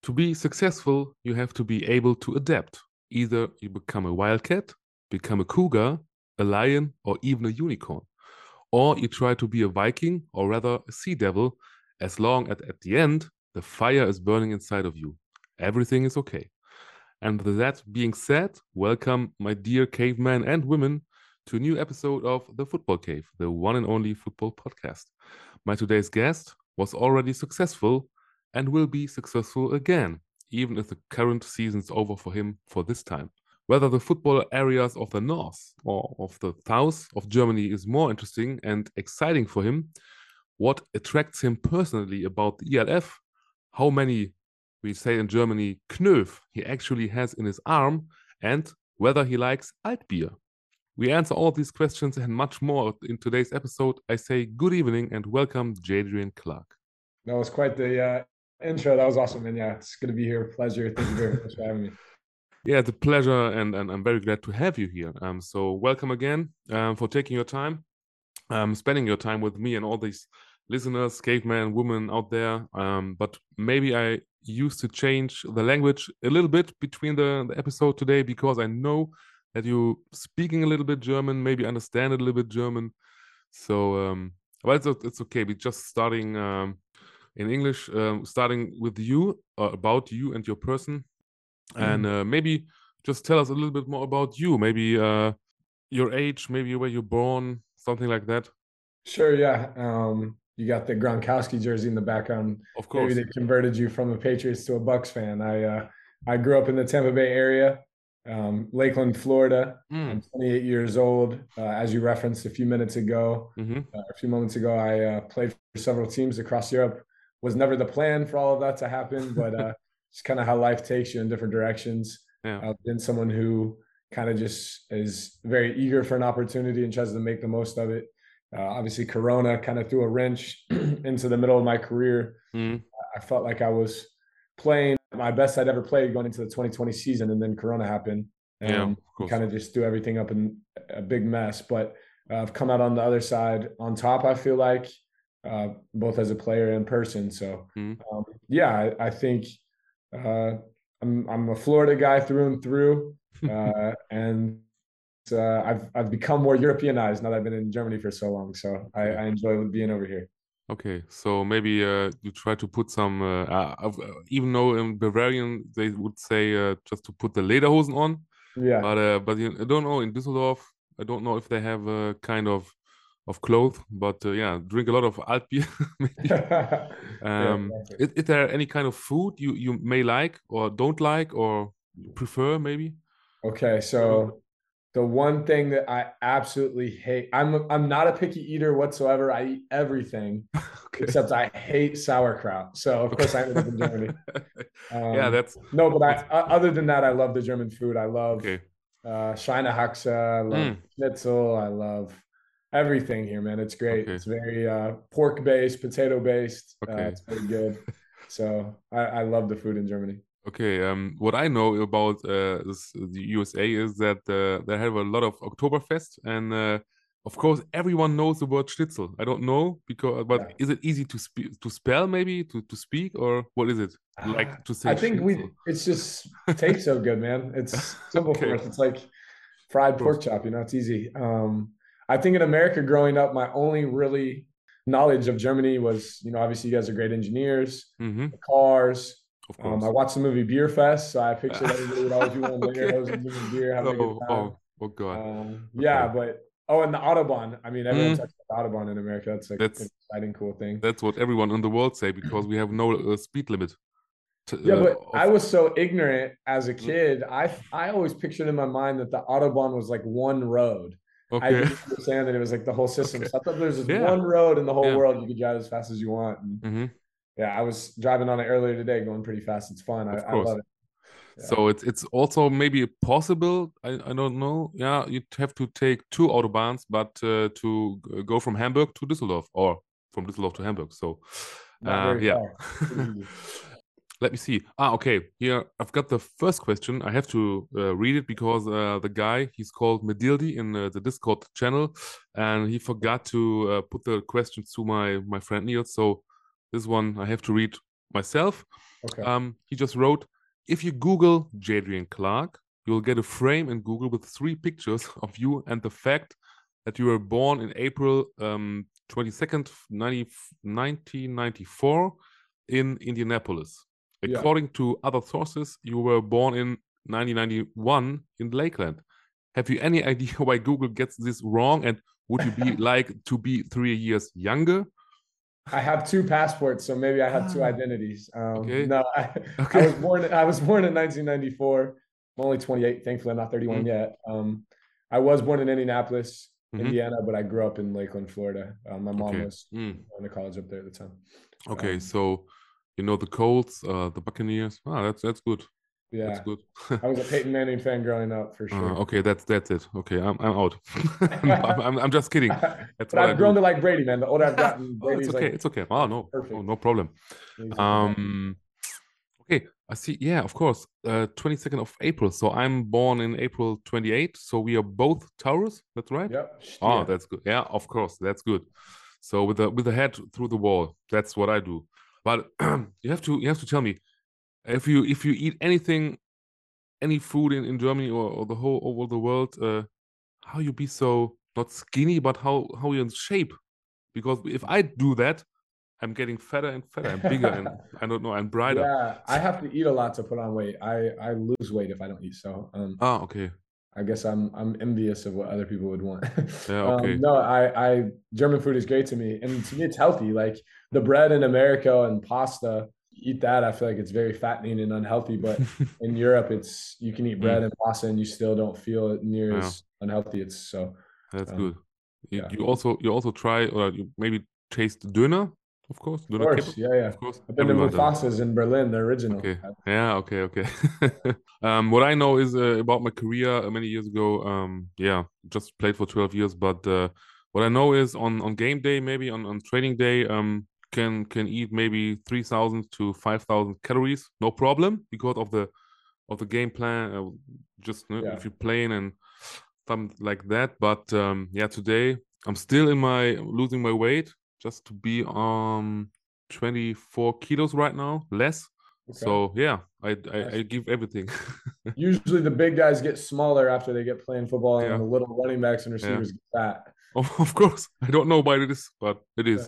To be successful, you have to be able to adapt. Either you become a wildcat, become a cougar, a lion, or even a unicorn. Or you try to be a Viking, or rather a sea devil, as long as at the end, the fire is burning inside of you. Everything is okay. And with that being said, welcome, my dear cavemen and women, to a new episode of The Football Cave, the one and only football podcast. My today's guest was already successful and will be successful again, even if the current season is over for him for this time. Whether the football areas of the north or of the south of Germany is more interesting and exciting for him, what attracts him personally about the ELF, how many, we say in Germany, Knöf he actually has in his arm, and whether he likes Altbier. We answer all these questions and much more in today's episode. I say good evening and welcome, Jadrian Clark. That was quite the intro. That was awesome, man. Yeah, it's good to be here. Pleasure. Thank you very much for having me. Yeah, it's a pleasure, and I'm very glad to have you here. So welcome again for taking your time, spending your time with me and all these listeners, cavemen, women out there. But maybe I used to change the language a little bit between the episode today because I know that you speaking a little bit German, maybe understand a little bit German. So, well, it's okay. We're just starting in English, starting with you, about you and your person. And maybe just tell us a little bit more about you, maybe your age, maybe where you're born, something like that. Sure. Yeah. You got the Gronkowski jersey in the background. Of Maybe course. they converted you from a Patriots to a Bucks fan. I grew up in the Tampa Bay area, Lakeland, Florida. I'm 28 years old. As you referenced a few minutes ago, a few moments ago, I played for several teams across Europe. Was never the plan for all of that to happen, but it's kind of how life takes you in different directions. Yeah. I've been someone who kind of just is very eager for an opportunity and tries to make the most of it. Obviously, Corona kind of threw a wrench into the middle of my career. I felt like I was playing my best I'd ever played going into the 2020 season, and then Corona happened. Yeah, of course. Kind of just threw everything up in a big mess. But I've come out on the other side on top, I feel like, both as a player and person. So, yeah, I think I'm a Florida guy through and through, and I've become more Europeanized now that I've been in Germany for so long. So I enjoy being over here. Okay, so maybe you try to put some, even though in Bavarian they would say just to put the lederhosen on. Yeah. But I don't know in Düsseldorf. I don't know if they have a kind of clothes, but yeah, drink a lot of Altbier. Is there any kind of food you may like or don't like or prefer maybe? Okay, so the one thing that I absolutely hate, I'm not a picky eater whatsoever. I eat everything except I hate sauerkraut. So of course I ended up in Germany. Yeah, that's no, but other than that, I love the German food. I love Schweinehaxe, I love schnitzel, I love everything here, man. It's great. It's very pork based, potato based. It's very good. So I love the food in Germany. Okay, what I know about the USA is that they have a lot of Oktoberfest, and of course everyone knows the word schnitzel. I don't know but is it easy to spell maybe to speak, or what is it like to say? I think schnitzel? it's just tastes so good, man. It's simple for us. It's like fried pork chop, it's easy. I think in America growing up, my only really knowledge of Germany was, obviously you guys are great engineers, the cars. Of course. I watched the movie Beer Fest, so I pictured everybody would always be one there, hosing beer, having a good time. Oh God. Yeah, but and the Autobahn. I mean, everyone talks about the Autobahn in America. That's like an exciting, cool thing. That's what everyone in the world say because we have no speed limit. Yeah, but I was so ignorant as a kid. I always pictured in my mind that the Autobahn was like one road. I didn't understand that it was like the whole system. So I thought there's just one road in the whole world you could drive as fast as you want. And yeah, I was driving on it earlier today, going pretty fast. It's fun. I love it. Yeah. So it's also maybe possible. I don't know. Yeah, you'd have to take 2 autobahns, but to go from Hamburg to Düsseldorf or from Düsseldorf to Hamburg. So yeah. Let me see. Okay. Here I've got the first question. I have to read it because the guy, he's called Medildi in the Discord channel, and he forgot to put the questions to my friend Niels. So this one I have to read myself. Okay. He just wrote, if you Google Jadrian Clark, you'll get a frame in Google with 3 pictures of you and the fact that you were born in April 22nd, 1994 in Indianapolis. According to other sources, you were born in 1991 in Lakeland. Have you any idea why Google gets this wrong? And would you be like to be 3 years younger? I have 2 passports, so maybe I have 2 identities. Okay. No, I was born in 1994. I'm only 28. Thankfully, I'm not 31 yet. I was born in Indianapolis, Indiana, but I grew up in Lakeland, Florida. My mom was going to college up there at the time. Okay, so you know the Colts, the Buccaneers. That's good. Yeah, that's good. I was a Peyton Manning fan growing up for sure. Okay, that's it. Okay, I'm out. I'm just kidding. But I've grown to like Brady, man. The older I've gotten, Brady's it's okay. like, it's okay. Oh no, perfect. no problem. Okay, I see. Yeah, of course. 22nd of April. So I'm born in April 28th. So we are both Taurus. That's right. Yep. Oh, that's good. Yeah, of course, that's good. So with the head through the wall, that's what I do. But you have to tell me if you eat anything, any food in Germany or the whole over the world, how you be so not skinny, but how you're in shape? Because if I do that, I'm getting fatter and fatter and bigger and I don't know, and brighter. Yeah, I have to eat a lot to put on weight. I lose weight if I don't eat. So okay. I guess I'm envious of what other people would want. Yeah, okay. No, I German food is great to me, and to me it's healthy. Like the bread in America and pasta, eat that, I feel like it's very fattening and unhealthy. But in Europe, it's you can eat bread and pasta and you still don't feel it near as unhealthy. It's so that's good. You also try or you maybe taste döner. Of course, yeah. Of course. I've been to Mufasa's in Berlin, the original. Okay. Yeah. Okay. What I know is about my career many years ago. Just played for 12 years. But what I know is on game day, maybe on training day, can eat maybe 3,000 to 5,000 calories, no problem, because of the game plan. If you're playing and something like that. But today I'm still losing my weight. Just to be 24 kilos right now, less. Okay. So yeah, I give everything. Usually the big guys get smaller after they get playing football, and the little running backs and receivers get fat. Of course, I don't know why it is, but it is.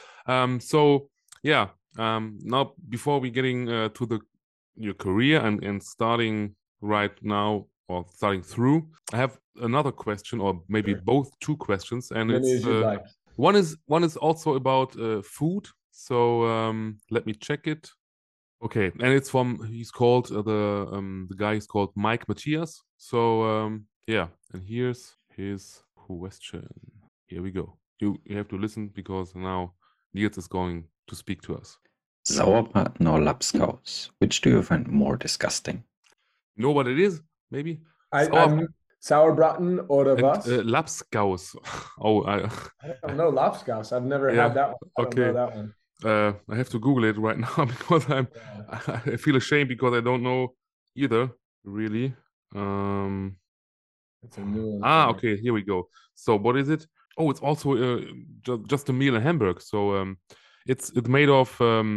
Now before we getting to your career and starting right now or starting through, I have another question, or maybe both 2 questions, and it's like. One is also about food. So let me check it. Okay, and it's he's called the guy is called Mike Matthias. So and here's his question. Here we go. You have to listen because now Niels is going to speak to us. Sauerbraten or Lapskaus? Which do you find more disgusting? You know what it is? Maybe Sauerbraten oder was? Lapskaus. I don't know Lapskaus. I've never had that one. I don't know that one. I have to Google it right now because I feel ashamed because I don't know either, really. It's a new one. Okay, here we go. So what is it? Oh, it's also just a meal in Hamburg. So it's made of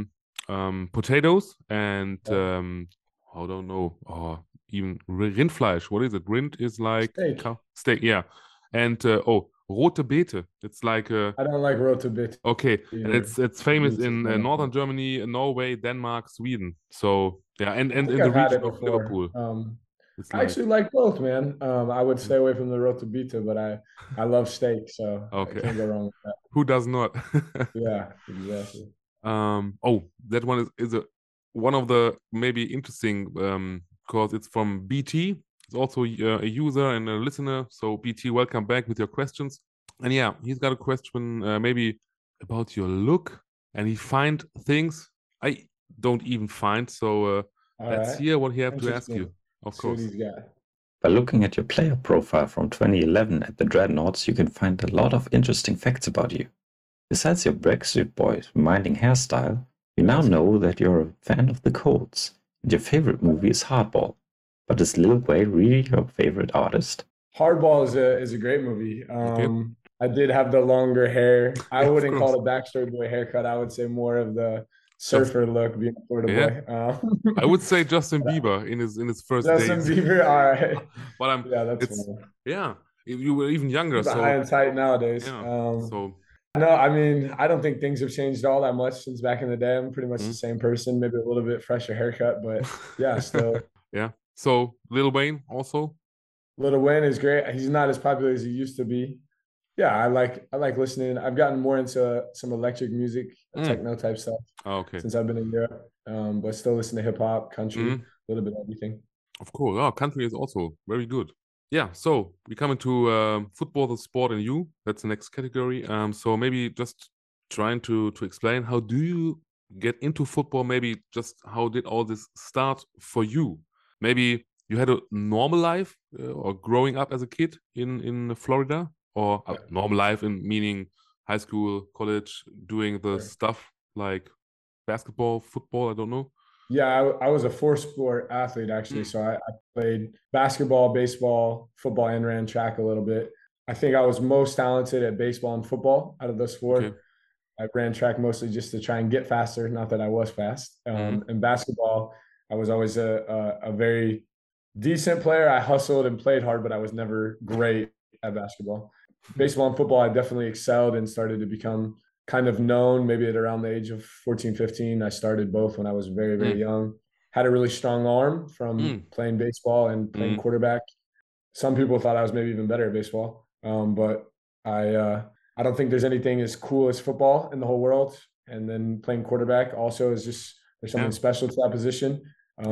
potatoes and I don't know. Even Rindfleisch. What is it? Rind is like steak. Yeah, and rote Beete. It's like I don't like rote Beete. Okay, and it's famous in northern Germany, Norway, Denmark, Sweden. So yeah, and in the region of Liverpool. I actually like both, man. I would stay away from the rote Beete, but I love steak, so I can't go wrong with that. Who does not? Yeah, exactly. That one is one of the maybe interesting because it's from BT. It's also a user and a listener. So BT, welcome back with your questions. And yeah, he's got a question maybe about your look, and he find things I don't even find. So let's hear what he have to ask you. Of course. By looking at your player profile from 2011 at the Dreadnoughts, you can find a lot of interesting facts about you. Besides your Backstreet Boys reminding hairstyle, we now know that you're a fan of the Colts, and your favorite movie is Hardball. But is Lil Wayne really your favorite artist? Hardball is a great movie. I did have the longer hair. I wouldn't call it a Backstreet Boy haircut. I would say more of the surfer look, being a Florida boy. I would say Justin Bieber in his first Justin days. Bieber, all right. But yeah, that's funny. Yeah, you were even younger. He's high and tight nowadays. So no, I mean, I don't think things have changed all that much since back in the day. I'm pretty much the same person, maybe a little bit fresher haircut, but yeah, still. Yeah. So Lil Wayne also. Lil Wayne is great. He's not as popular as he used to be. Yeah, I like listening. I've gotten more into some electric music, techno type stuff. Since I've been in Europe, but still listen to hip hop, country, a little bit of everything. Of course, country is also very good. Yeah, so we come into football, the sport, and you. That's the next category. So maybe just trying to explain, how do you get into football? Maybe just how did all this start for you? Maybe you had a normal life or growing up as a kid in Florida, or a normal life in meaning high school, college, doing the stuff like basketball, football, I don't know. Yeah, I was a four-sport athlete, actually. So I played basketball, baseball, football, and ran track a little bit. I think I was most talented at baseball and football out of those four. I ran track mostly just to try and get faster, not that I was fast. In basketball, I was always a very decent player. I hustled and played hard, but I was never great at basketball. Baseball and football, I definitely excelled and started to become kind of known maybe at around the age of 14, 15. I started both when I was very, very young. Had a really strong arm from playing baseball and playing quarterback. Some people thought I was maybe even better at baseball. But I don't think there's anything as cool as football in the whole world. And then playing quarterback also is just, there's something special to that position.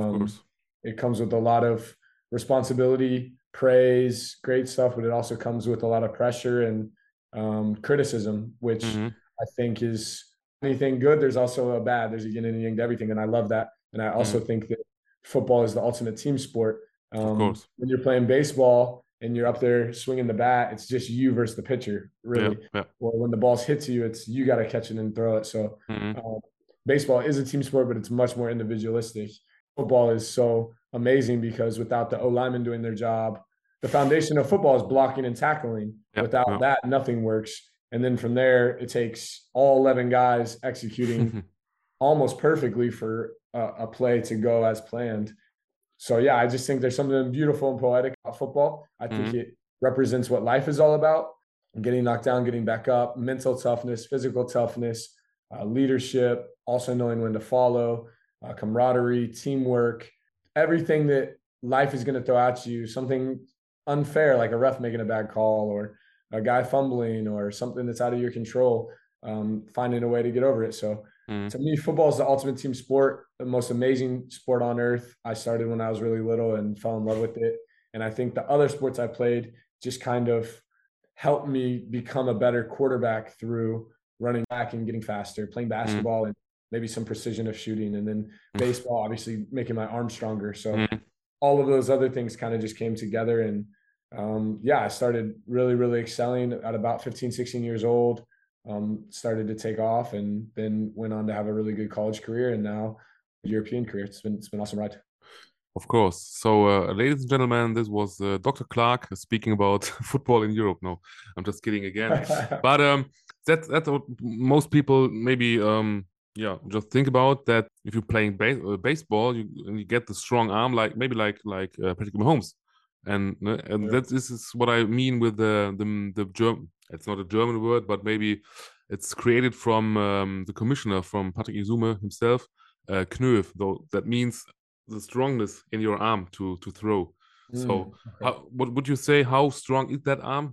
It comes with a lot of responsibility, praise, great stuff, but it also comes with a lot of pressure and criticism, which I think is anything good. There's also a bad. There's a yin and yang to everything, and I love that. And I also think that football is the ultimate team sport. Of course. When you're playing baseball and you're up there swinging the bat, it's just you versus the pitcher, really. Or when the ball hits you, it's you got to catch it and throw it. So baseball is a team sport, but it's much more individualistic. Football is so amazing because without the O-linemen doing their job, the foundation of football is blocking and tackling. Without that, nothing works. And then from there, it takes all 11 guys executing almost perfectly for a play to go as planned. So, yeah, I just think there's something beautiful and poetic about football. I think it represents what life is all about: getting knocked down, getting back up, mental toughness, physical toughness, leadership, also knowing when to follow, camaraderie, teamwork, everything that life is going to throw at you, something unfair like a ref making a bad call or a guy fumbling or something that's out of your control, finding a way to get over it. So to me, football is the ultimate team sport, the most amazing sport on earth. I started when I was really little and fell in love with it. And I think the other sports I played just kind of helped me become a better quarterback through running back and getting faster, playing basketball and maybe some precision of shooting. And then baseball, obviously making my arm stronger. So all of those other things kind of just came together. And I started really, really excelling at about 15, 16 years old, started to take off and then went on to have a really good college career and now a European career. It's been an awesome ride. Of course. So, ladies and gentlemen, this was Dr. Clark speaking about football in Europe. No, I'm just kidding again. But that's what most people maybe just think about, that if you're playing baseball, you get the strong arm like Patrick Mahomes. And this is what I mean with the German. It's not a German word, but maybe it's created from the commissioner, from Patrick Izume himself, Knöf. Though that means the strongness in your arm to throw. So, what would you say? How strong is that arm?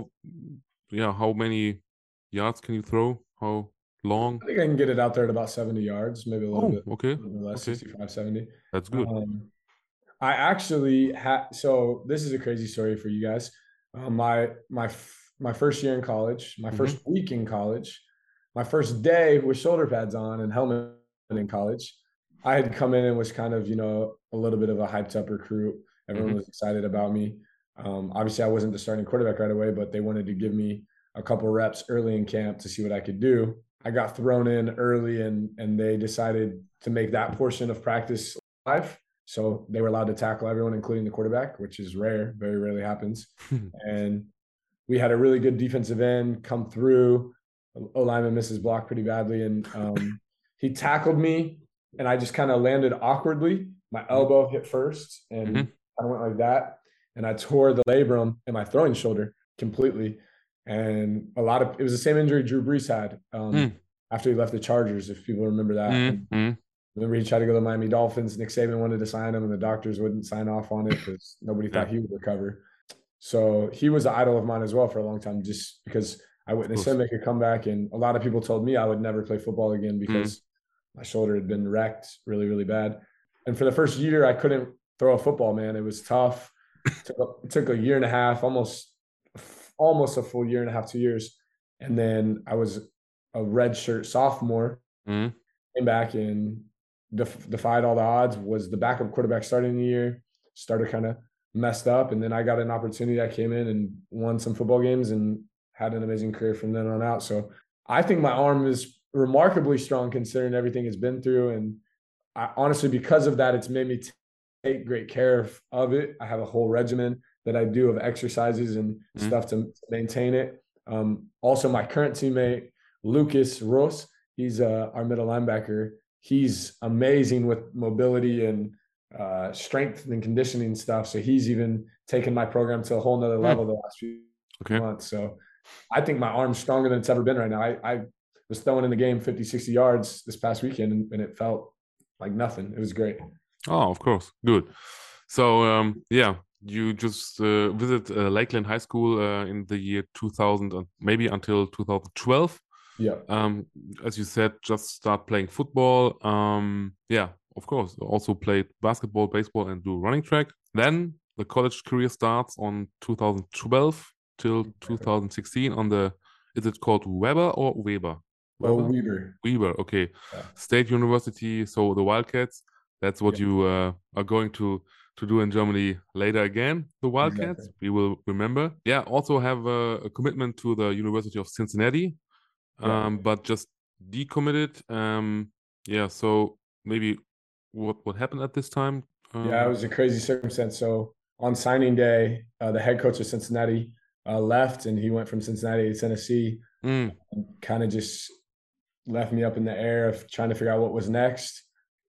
How many yards can you throw? How long? I think I can get it out there at about 70 yards, maybe a little bit. Okay. Less, 65, 70. That's good. I actually so this is a crazy story for you guys. My first year in college, my first week in college, my first day with shoulder pads on and helmet in college, I had come in and was kind of, a little bit of a hyped up recruit. Everyone was excited about me. Obviously I wasn't the starting quarterback right away, but they wanted to give me a couple reps early in camp to see what I could do. I got thrown in early and they decided to make that portion of practice live. So they were allowed to tackle everyone, including the quarterback, which is rare, very rarely happens. And we had a really good defensive end come through. O-lineman misses block pretty badly. And he tackled me, and I just kind of landed awkwardly. My elbow hit first, and kind of went like that, and I tore the labrum in my throwing shoulder completely. And it was the same injury Drew Brees had after he left the Chargers, if people remember that. Remember, he tried to go to the Miami Dolphins. Nick Saban wanted to sign him, and the doctors wouldn't sign off on it because nobody thought he would recover. So he was an idol of mine as well for a long time, just because I witnessed him make a comeback. And a lot of people told me I would never play football again because my shoulder had been wrecked really, really bad. And for the first year, I couldn't throw a football, man. It was tough. It took a year and a half, almost a full year and a half, 2 years. And then I was a redshirt sophomore, came back and defied all the odds, was the backup quarterback starting the year, started kind of messed up. And then I got an opportunity. I came in and won some football games and had an amazing career from then on out. So I think my arm is remarkably strong considering everything it's been through. And I, honestly, because of that, it's made me take great care of it. I have a whole regimen that I do of exercises and stuff to maintain it. Also, my current teammate, Lucas Ross, he's our middle linebacker. He's amazing with mobility and strength and conditioning stuff. So he's even taken my program to a whole nother level the last few months. So I think my arm's stronger than it's ever been right now. I was throwing in the game 50, 60 yards this past weekend, and it felt like nothing. It was great. Oh, of course. Good. So, you just visit Lakeland High School in the year 2000, and maybe until 2012. Yeah. As you said, just start playing football. Of course. Also played basketball, baseball, and do running track. Then the college career starts on 2012 till 2016 on the, is it called Weber or Weber? Weber. Weber, okay. Yeah. State University, so the Wildcats. That's what you are going to do in Germany later again, the Wildcats. Exactly. We will remember. Yeah, also have a commitment to the University of Cincinnati, but just decommitted. So maybe what happened at this time? It was a crazy circumstance. So on signing day, the head coach of Cincinnati left, and he went from Cincinnati to Tennessee. Kind of just left me up in the air of trying to figure out what was next.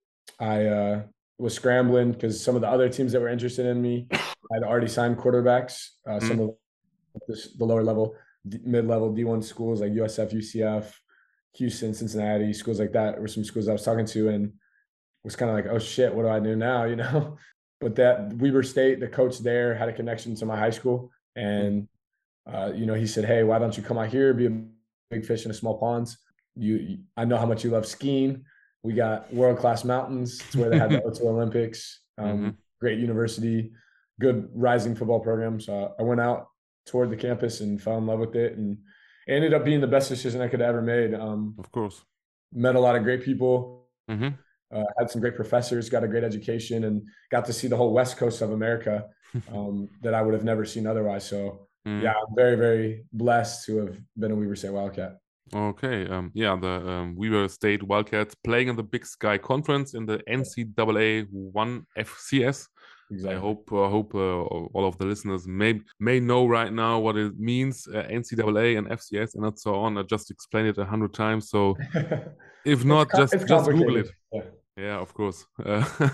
I was scrambling because some of the other teams that were interested in me had already signed quarterbacks. Some of the lower level, mid-level D1 schools like USF, UCF, Houston, Cincinnati, schools like that were some schools I was talking to, and was kind of like, oh shit, what do I do now? You know, but that Weber State, the coach there had a connection to my high school, and he said, hey, why don't you come out here, be a big fish in a small pond? I know how much you love skiing. We got world-class mountains. It's where they had the O2 Olympics. Great university, good rising football program. So I went out, toured the campus, and fell in love with it, and it ended up being the best decision I could have ever made. Of course. Met a lot of great people, had some great professors, got a great education, and got to see the whole West Coast of America that I would have never seen otherwise. So I'm very, very blessed to have been a Weber State Wildcat. Okay, the Weber State Wildcats playing in the Big Sky Conference in the NCAA 1 FCS. Exactly. I hope all of the listeners may know right now what it means, NCAA and FCS and so on. I just explained it 100 times, so if not, just Google it. Yeah, of course. And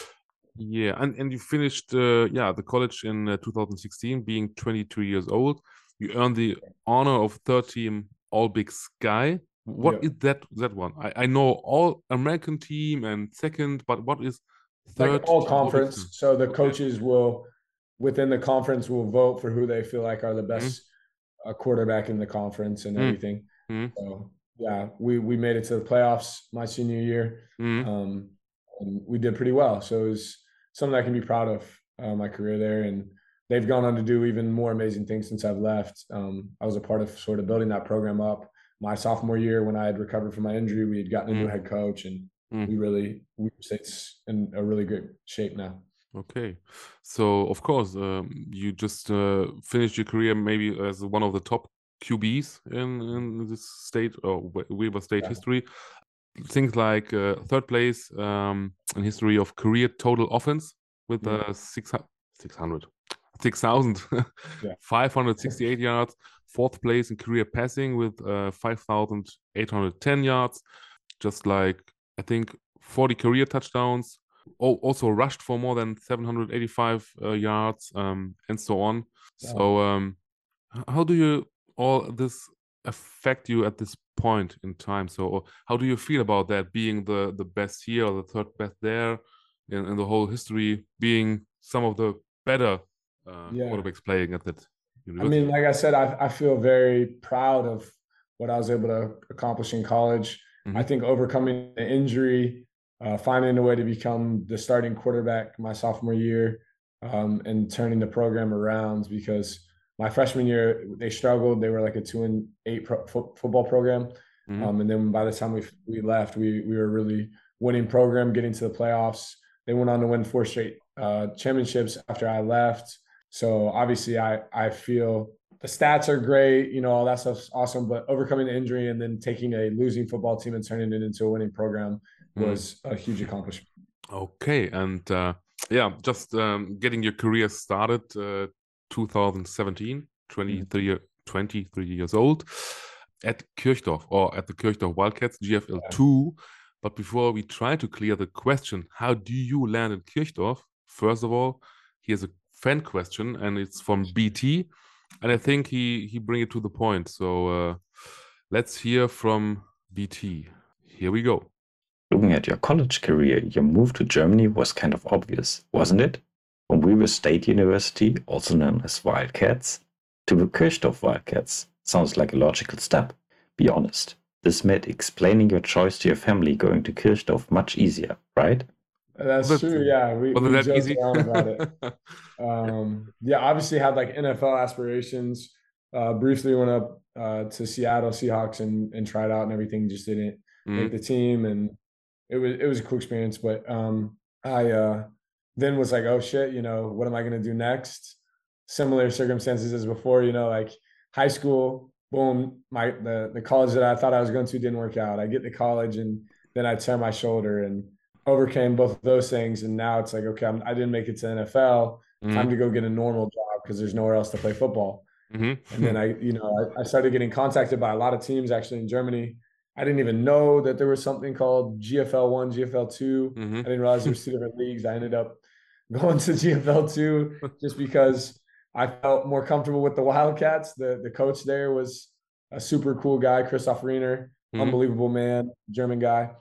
you finished the college in 2016, being 22 years old. You earned the honor of third team All Big Sky. What is that one? I know All American team and second, but what is third? Like all conference. So the coaches will, within the conference, will vote for who they feel like are the best quarterback in the conference and everything. So we made it to the playoffs my senior year, and we did pretty well. So it was something I can be proud of, my career there, and they've gone on to do even more amazing things since I've left. I was a part of sort of building that program up. My sophomore year, when I had recovered from my injury, we had gotten a new head coach, and we State's in a really great shape now. Okay, so of course, you just finished your career maybe as one of the top QBs in this state or Weber State history. Things like third place in history of career total offense with 6,568 yards. Fourth place in career passing with 5,810 yards. just like, I think, 40 career touchdowns, also rushed for more than 785 yards, and so on. So how do you all this affect you at this point in time? So how do you feel about that, being the best here or the third best there in the whole history, being some of the better quarterbacks playing at that university? I mean, like I said, I feel very proud of what I was able to accomplish in college. I think overcoming the injury, finding a way to become the starting quarterback my sophomore year, and turning the program around, because my freshman year they struggled. They were like a 2-8 football program, and then by the time we left, we were a really winning program, getting to the playoffs. They went on to win 4 straight championships after I left. So obviously I feel the stats are great, you know, all that stuff's awesome, but overcoming the injury and then taking a losing football team and turning it into a winning program was a huge accomplishment. Okay, and yeah, just getting your career started, 2017, 23 years old, at Kirchdorf, or at the Kirchdorf Wildcats, GFL2. But before we try to clear the question, how do you land in Kirchdorf? First of all, here's a fan question, and it's from BT, and I think he bring it to the point. So let's hear from BT. Here we go. Looking at your college career, your move to Germany was kind of obvious, wasn't it? From Weber State University, also known as Wildcats, to the Kirchdorf Wildcats. Sounds like a logical step. Be honest, this made explaining your choice to your family going to Kirchdorf much easier, right? That's true, yeah. We joked around about it. Yeah, obviously had like NFL aspirations. Briefly went up to Seattle Seahawks and tried out and everything, just didn't make the team, and it was a cool experience. But I then was like, oh shit, you know, what am I gonna do next? Similar circumstances as before, you know, like high school, boom, the college that I thought I was going to didn't work out. I get to college and then I tear my shoulder, and overcame both of those things. And now it's like, okay, I didn't make it to NFL. Time to go get a normal job because there's nowhere else to play football. And then I started getting contacted by a lot of teams actually in Germany. I didn't even know that there was something called GFL1, GFL2. I didn't realize there was 2 different leagues. I ended up going to GFL2 just because I felt more comfortable with the Wildcats. The coach there was a super cool guy, Christoph Riener, unbelievable man, German guy.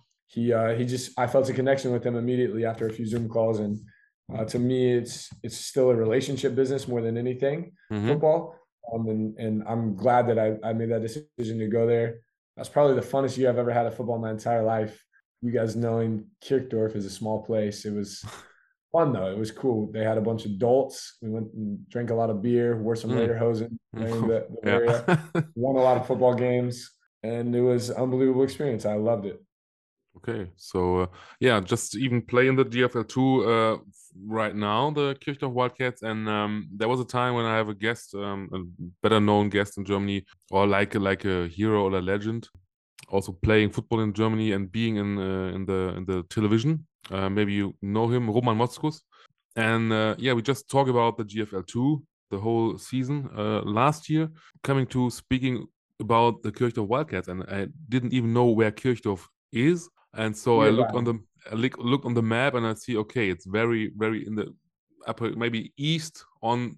I felt a connection with him immediately after a few Zoom calls. And to me, it's still a relationship business more than anything, football. And I'm glad that I made that decision to go there. That's probably the funnest year I've ever had of football in my entire life. You guys knowing Kirchdorf is a small place. It was fun though. It was cool. They had a bunch of adults. We went and drank a lot of beer, wore some lederhosen during the area, won a lot of football games, and it was an unbelievable experience. I loved it. Okay, so yeah, just even playing the GFL2 right now, the Kirchdorf Wildcats, and there was a time when I have a guest, a better known guest in Germany, or like a hero or a legend, also playing football in Germany and being in the television. Maybe you know him, Roman Motzkus. And yeah, we just talked about the GFL2 the whole season last year. Coming to speaking about the Kirchdorf Wildcats, and I didn't even know where Kirchdorf is. And so I look on the map and I see, okay, it's very, very in the upper, maybe east on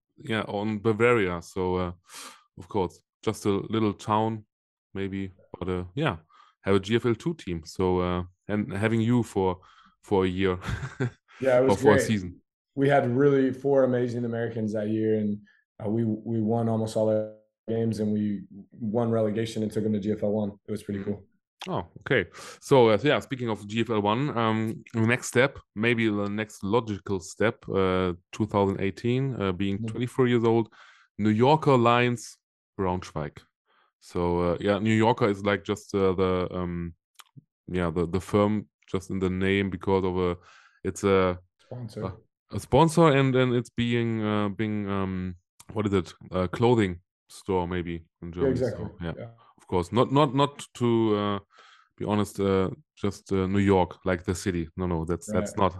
Bavaria. So of course, just a little town, maybe, but have a GFL2 team. So and having you for a year, yeah, it was for great. a season. We had really 4 amazing Americans that year, and we won almost all our games, and we won relegation and took them to GFL1. It was pretty cool. Oh, okay. So yeah, speaking of GFL1, the next step, maybe the next logical step, 2018, being 24 years old, New Yorker Lions, Braunschweig. So yeah, New Yorker is like just the firm, just in the name, because of it's a sponsor, and then it's being what is it, a clothing store maybe in Germany. Yeah, exactly. So, yeah. Of course, not to be honest, just New York, like the city. No, that's not.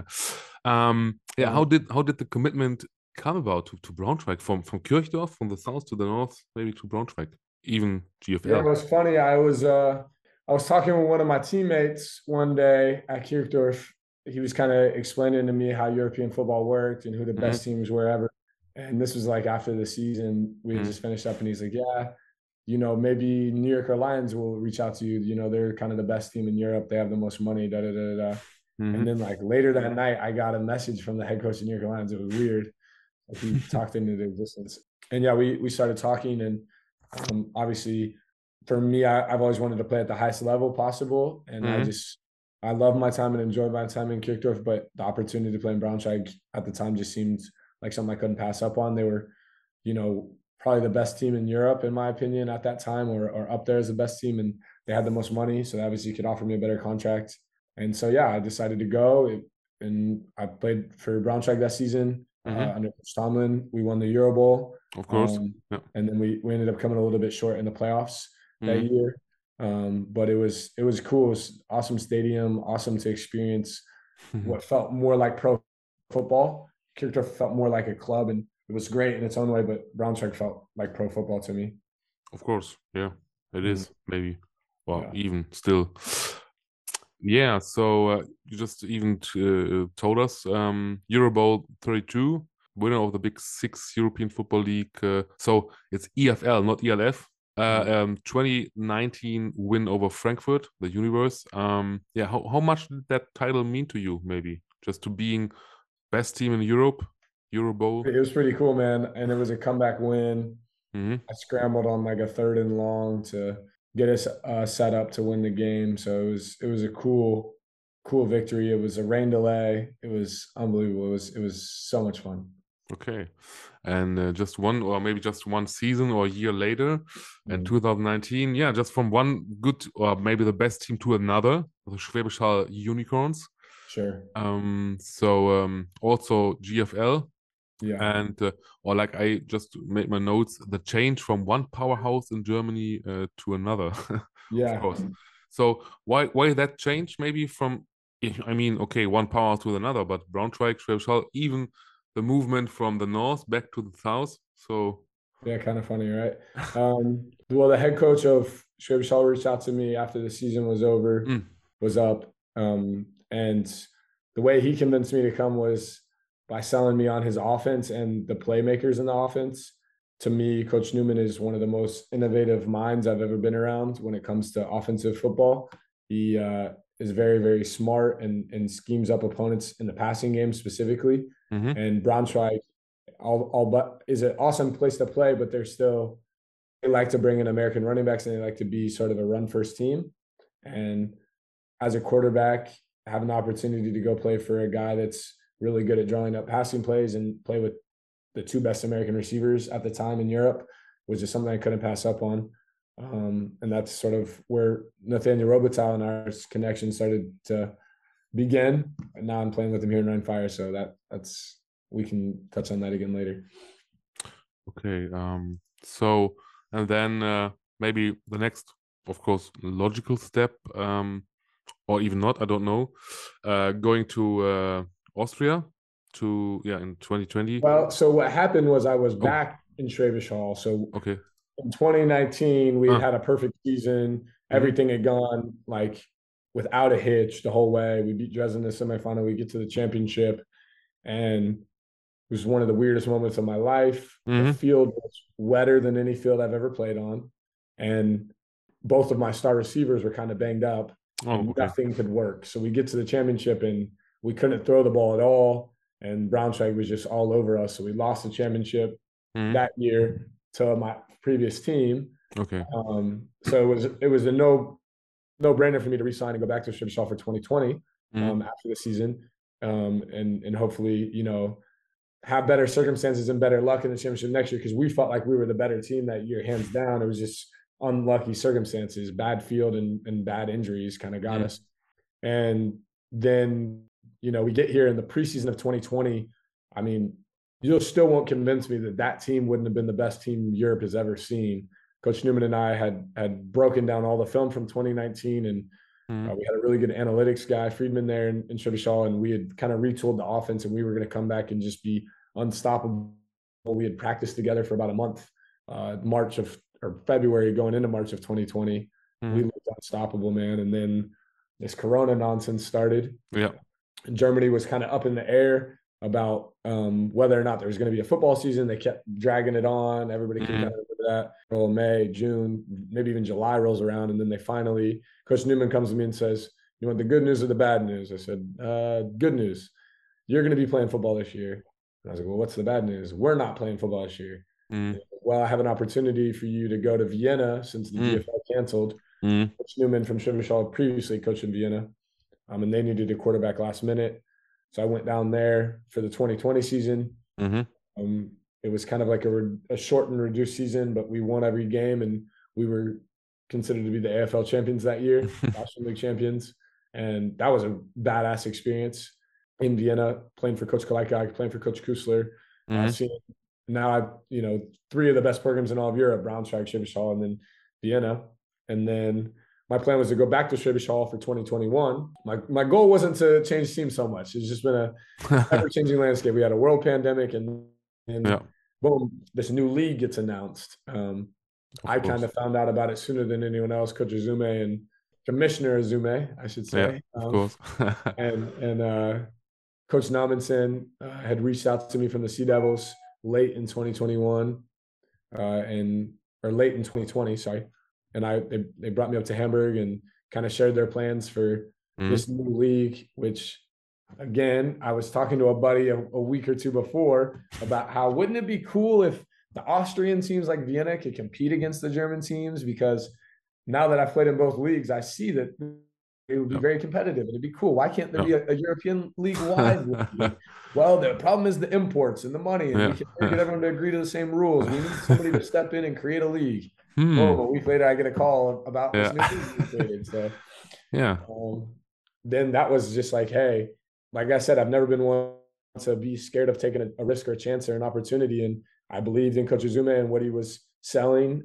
Yeah, how did the commitment come about to Braunschweig, from Kirchdorf, from the south to the north, maybe to Braunschweig, even GFL? Yeah, it was funny. I was I was talking with one of my teammates one day at Kirchdorf. He was kind of explaining to me how European football worked and who the best teams were ever. And this was like after the season we had just finished up, and he's like, yeah, maybe New Yorker Lions will reach out to you. They're kind of the best team in Europe. They have the most money, da da da da. And then like later that night, I got a message from the head coach of New Yorker Lions. It was weird. Like, he talked into the existence. And yeah, we started talking, and obviously for me, I've always wanted to play at the highest level possible. And I love my time and enjoyed my time in Kirchdorf, but the opportunity to play in Braunschweig at the time just seemed like something I couldn't pass up on. They were, probably the best team in Europe, in my opinion, at that time, or up there as the best team. And they had the most money. So obviously could offer me a better contract. And so, yeah, I decided to go, and I played for Braunschweig that season under Coach Tomlin. We won the Euro Bowl. Of course. And then we ended up coming a little bit short in the playoffs that year. But it was cool. It was awesome stadium, awesome to experience what felt more like pro football. Kirchdorf felt more like a club, and it was great in its own way, but Braunschweig felt like pro football to me. Of course, yeah, it is maybe. Well, even still. Yeah, so you just even told us Euro Bowl 32, winner of the Big Six European Football League. So it's EFL, not ELF. 2019 win over Frankfurt, the Universe. How much did that title mean to you? Maybe just to being best team in Europe, Euro Bowl. It was pretty cool, man, and it was a comeback win. I scrambled on like a 3rd and long to get us set up to win the game. So it was a cool victory. It was a rain delay. It was unbelievable. It was so much fun. Okay, and just one season or a year later, in 2019, just from one good or maybe the best team to another, the Schwäbisch Hall Unicorns. Sure. Also GFL. Yeah. And or like I just made my notes, the change from one powerhouse in Germany to another. Yeah. Of course. So why that change? Maybe from, I mean, okay, one powerhouse to another, but Braunschweig, Schwäbisch Hall, even the movement from the north back to the south. So yeah, kind of funny, right? Well, the head coach of Schwäbisch Hall reached out to me after the season was over, was up, and the way he convinced me to come was by selling me on his offense and the playmakers in the offense. To me, Coach Newman is one of the most innovative minds I've ever been around when it comes to offensive football. He is very, very smart and schemes up opponents in the passing game specifically. And Braunschweig but is an awesome place to play, but they like to bring in American running backs, and they like to be sort of a run first team. And as a quarterback, having the opportunity to go play for a guy that's really good at drawing up passing plays and play with the 2 best American receivers at the time in Europe was just something I couldn't pass up on. And that's sort of where Nathaniel Robitaille and our connection started to begin. And now I'm playing with him here in Rhein Fire, so that's we can touch on that again later. Okay. So, and then maybe the next, of course, logical step, or even not, I don't know, going to Austria in 2020. Well, so what happened was I was back in Schwäbisch Hall. So okay. In 2019, we had a perfect season. Everything had gone like without a hitch the whole way. We beat Dresden in the semifinal. We get to the championship, and it was one of the weirdest moments of my life. The field was wetter than any field I've ever played on, and both of my star receivers were kind of banged up. Nothing could work. So we get to the championship, and we couldn't throw the ball at all. And Braunschweig was just all over us. So we lost the championship that year to my previous team. Okay. So it was a no-brainer for me to resign and go back to Schwäbisch Hall for 2020 after the season, and hopefully, have better circumstances and better luck in the championship next year, because we felt like we were the better team that year, hands down. It was just unlucky circumstances, bad field and bad injuries kind of got us. And then, we get here in the preseason of 2020. I mean, you still won't convince me that team wouldn't have been the best team Europe has ever seen. Coach Newman and I had broken down all the film from 2019, and we had a really good analytics guy, Friedman, there in Schwäbisch Hall, and we had kind of retooled the offense, and we were going to come back and just be unstoppable. We had practiced together for about a month, February going into March of 2020. We looked unstoppable, man. And then this Corona nonsense started. Yeah. And Germany was kind of up in the air about whether or not there was going to be a football season. They kept dragging it on. Everybody can kind of remember that. Well, May, June, maybe even July rolls around. And then they finally, Coach Newman comes to me and says, "You want the good news or the bad news?" I said, "Good news. You're going to be playing football this year." And I was like, "Well, what's the bad news?" "We're not playing football this year." "Well, I have an opportunity for you to go to Vienna since the GFL canceled." Coach Newman from Schwäbisch previously coached in Vienna, and they needed a quarterback last minute. So I went down there for the 2020 season. It was kind of like a short and reduced season, but we won every game, and we were considered to be the AFL champions that year, National League champions. And that was a badass experience in Vienna, playing for Coach Kalajka, playing for Coach Kusler. Now I've, 3 of the best programs in all of Europe, Braunschweig, Schwäbisch Hall, and then Vienna. And then my plan was to go back to Schwäbisch Hall for 2021. My goal wasn't to change teams so much. It's just been a ever-changing landscape. We had a world pandemic, and boom, this new league gets announced. I kind of found out about it sooner than anyone else. Coach Azume and Commissioner Azume, I should say. Yeah, of course. and Coach Namensson had reached out to me from the Sea Devils late in 2021, or late in 2020, sorry. And they brought me up to Hamburg and kind of shared their plans for this new league, which, again, I was talking to a buddy a week or two before about how wouldn't it be cool if the Austrian teams like Vienna could compete against the German teams? Because now that I've played in both leagues, I see that it would be very competitive and it'd be cool. Why can't there be a European league-wide league? Well, the problem is the imports and the money, and we can't get everyone to agree to the same rules. We need somebody to step in and create a league. Oh, a week later, I get a call about this new league we created. So, then that was just like, hey, like I said, I've never been one to be scared of taking a risk or a chance or an opportunity. And I believed in Coach Azume and what he was selling.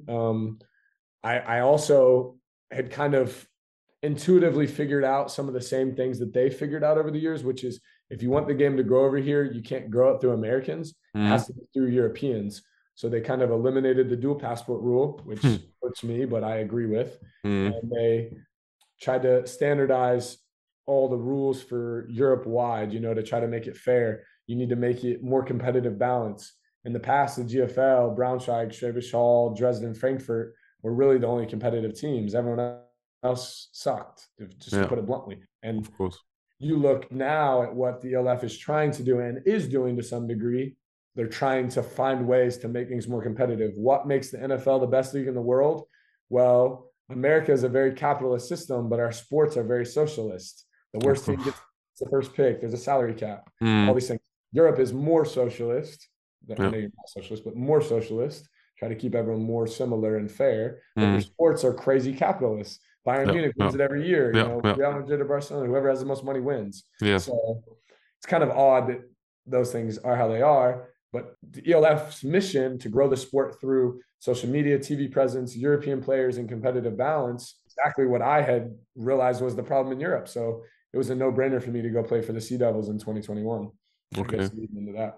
I also had kind of intuitively figured out some of the same things that they figured out over the years, which is if you want the game to grow over here, you can't grow it through Americans. It has to be through Europeans. So they kind of eliminated the dual passport rule, which hurts me, but I agree with. And they tried to standardize all the rules for Europe-wide, to try to make it fair. You need to make it more competitive balance. In the past, the GFL, Braunschweig, Schwäbisch Hall, Dresden, Frankfurt were really the only competitive teams. Everyone else sucked, just to put it bluntly. And of course, you look now at what the ELF is trying to do and is doing to some degree. They're trying to find ways to make things more competitive. What makes the NFL the best league in the world? Well, America is a very capitalist system, but our sports are very socialist. The worst team gets the first pick. There's a salary cap. All these things. Europe is more socialist. I know you're not socialist, but more socialist. Try to keep everyone more similar and fair. But your sports are crazy capitalists. Bayern Munich wins it every year. Real Madrid or Barcelona, whoever has the most money wins. So it's kind of odd that those things are how they are. But the ELF's mission to grow the sport through social media, TV presence, European players, and competitive balance, exactly what I had realized was the problem in Europe. So it was a no-brainer for me to go play for the Sea Devils in 2021. Okay. I guess leading into that.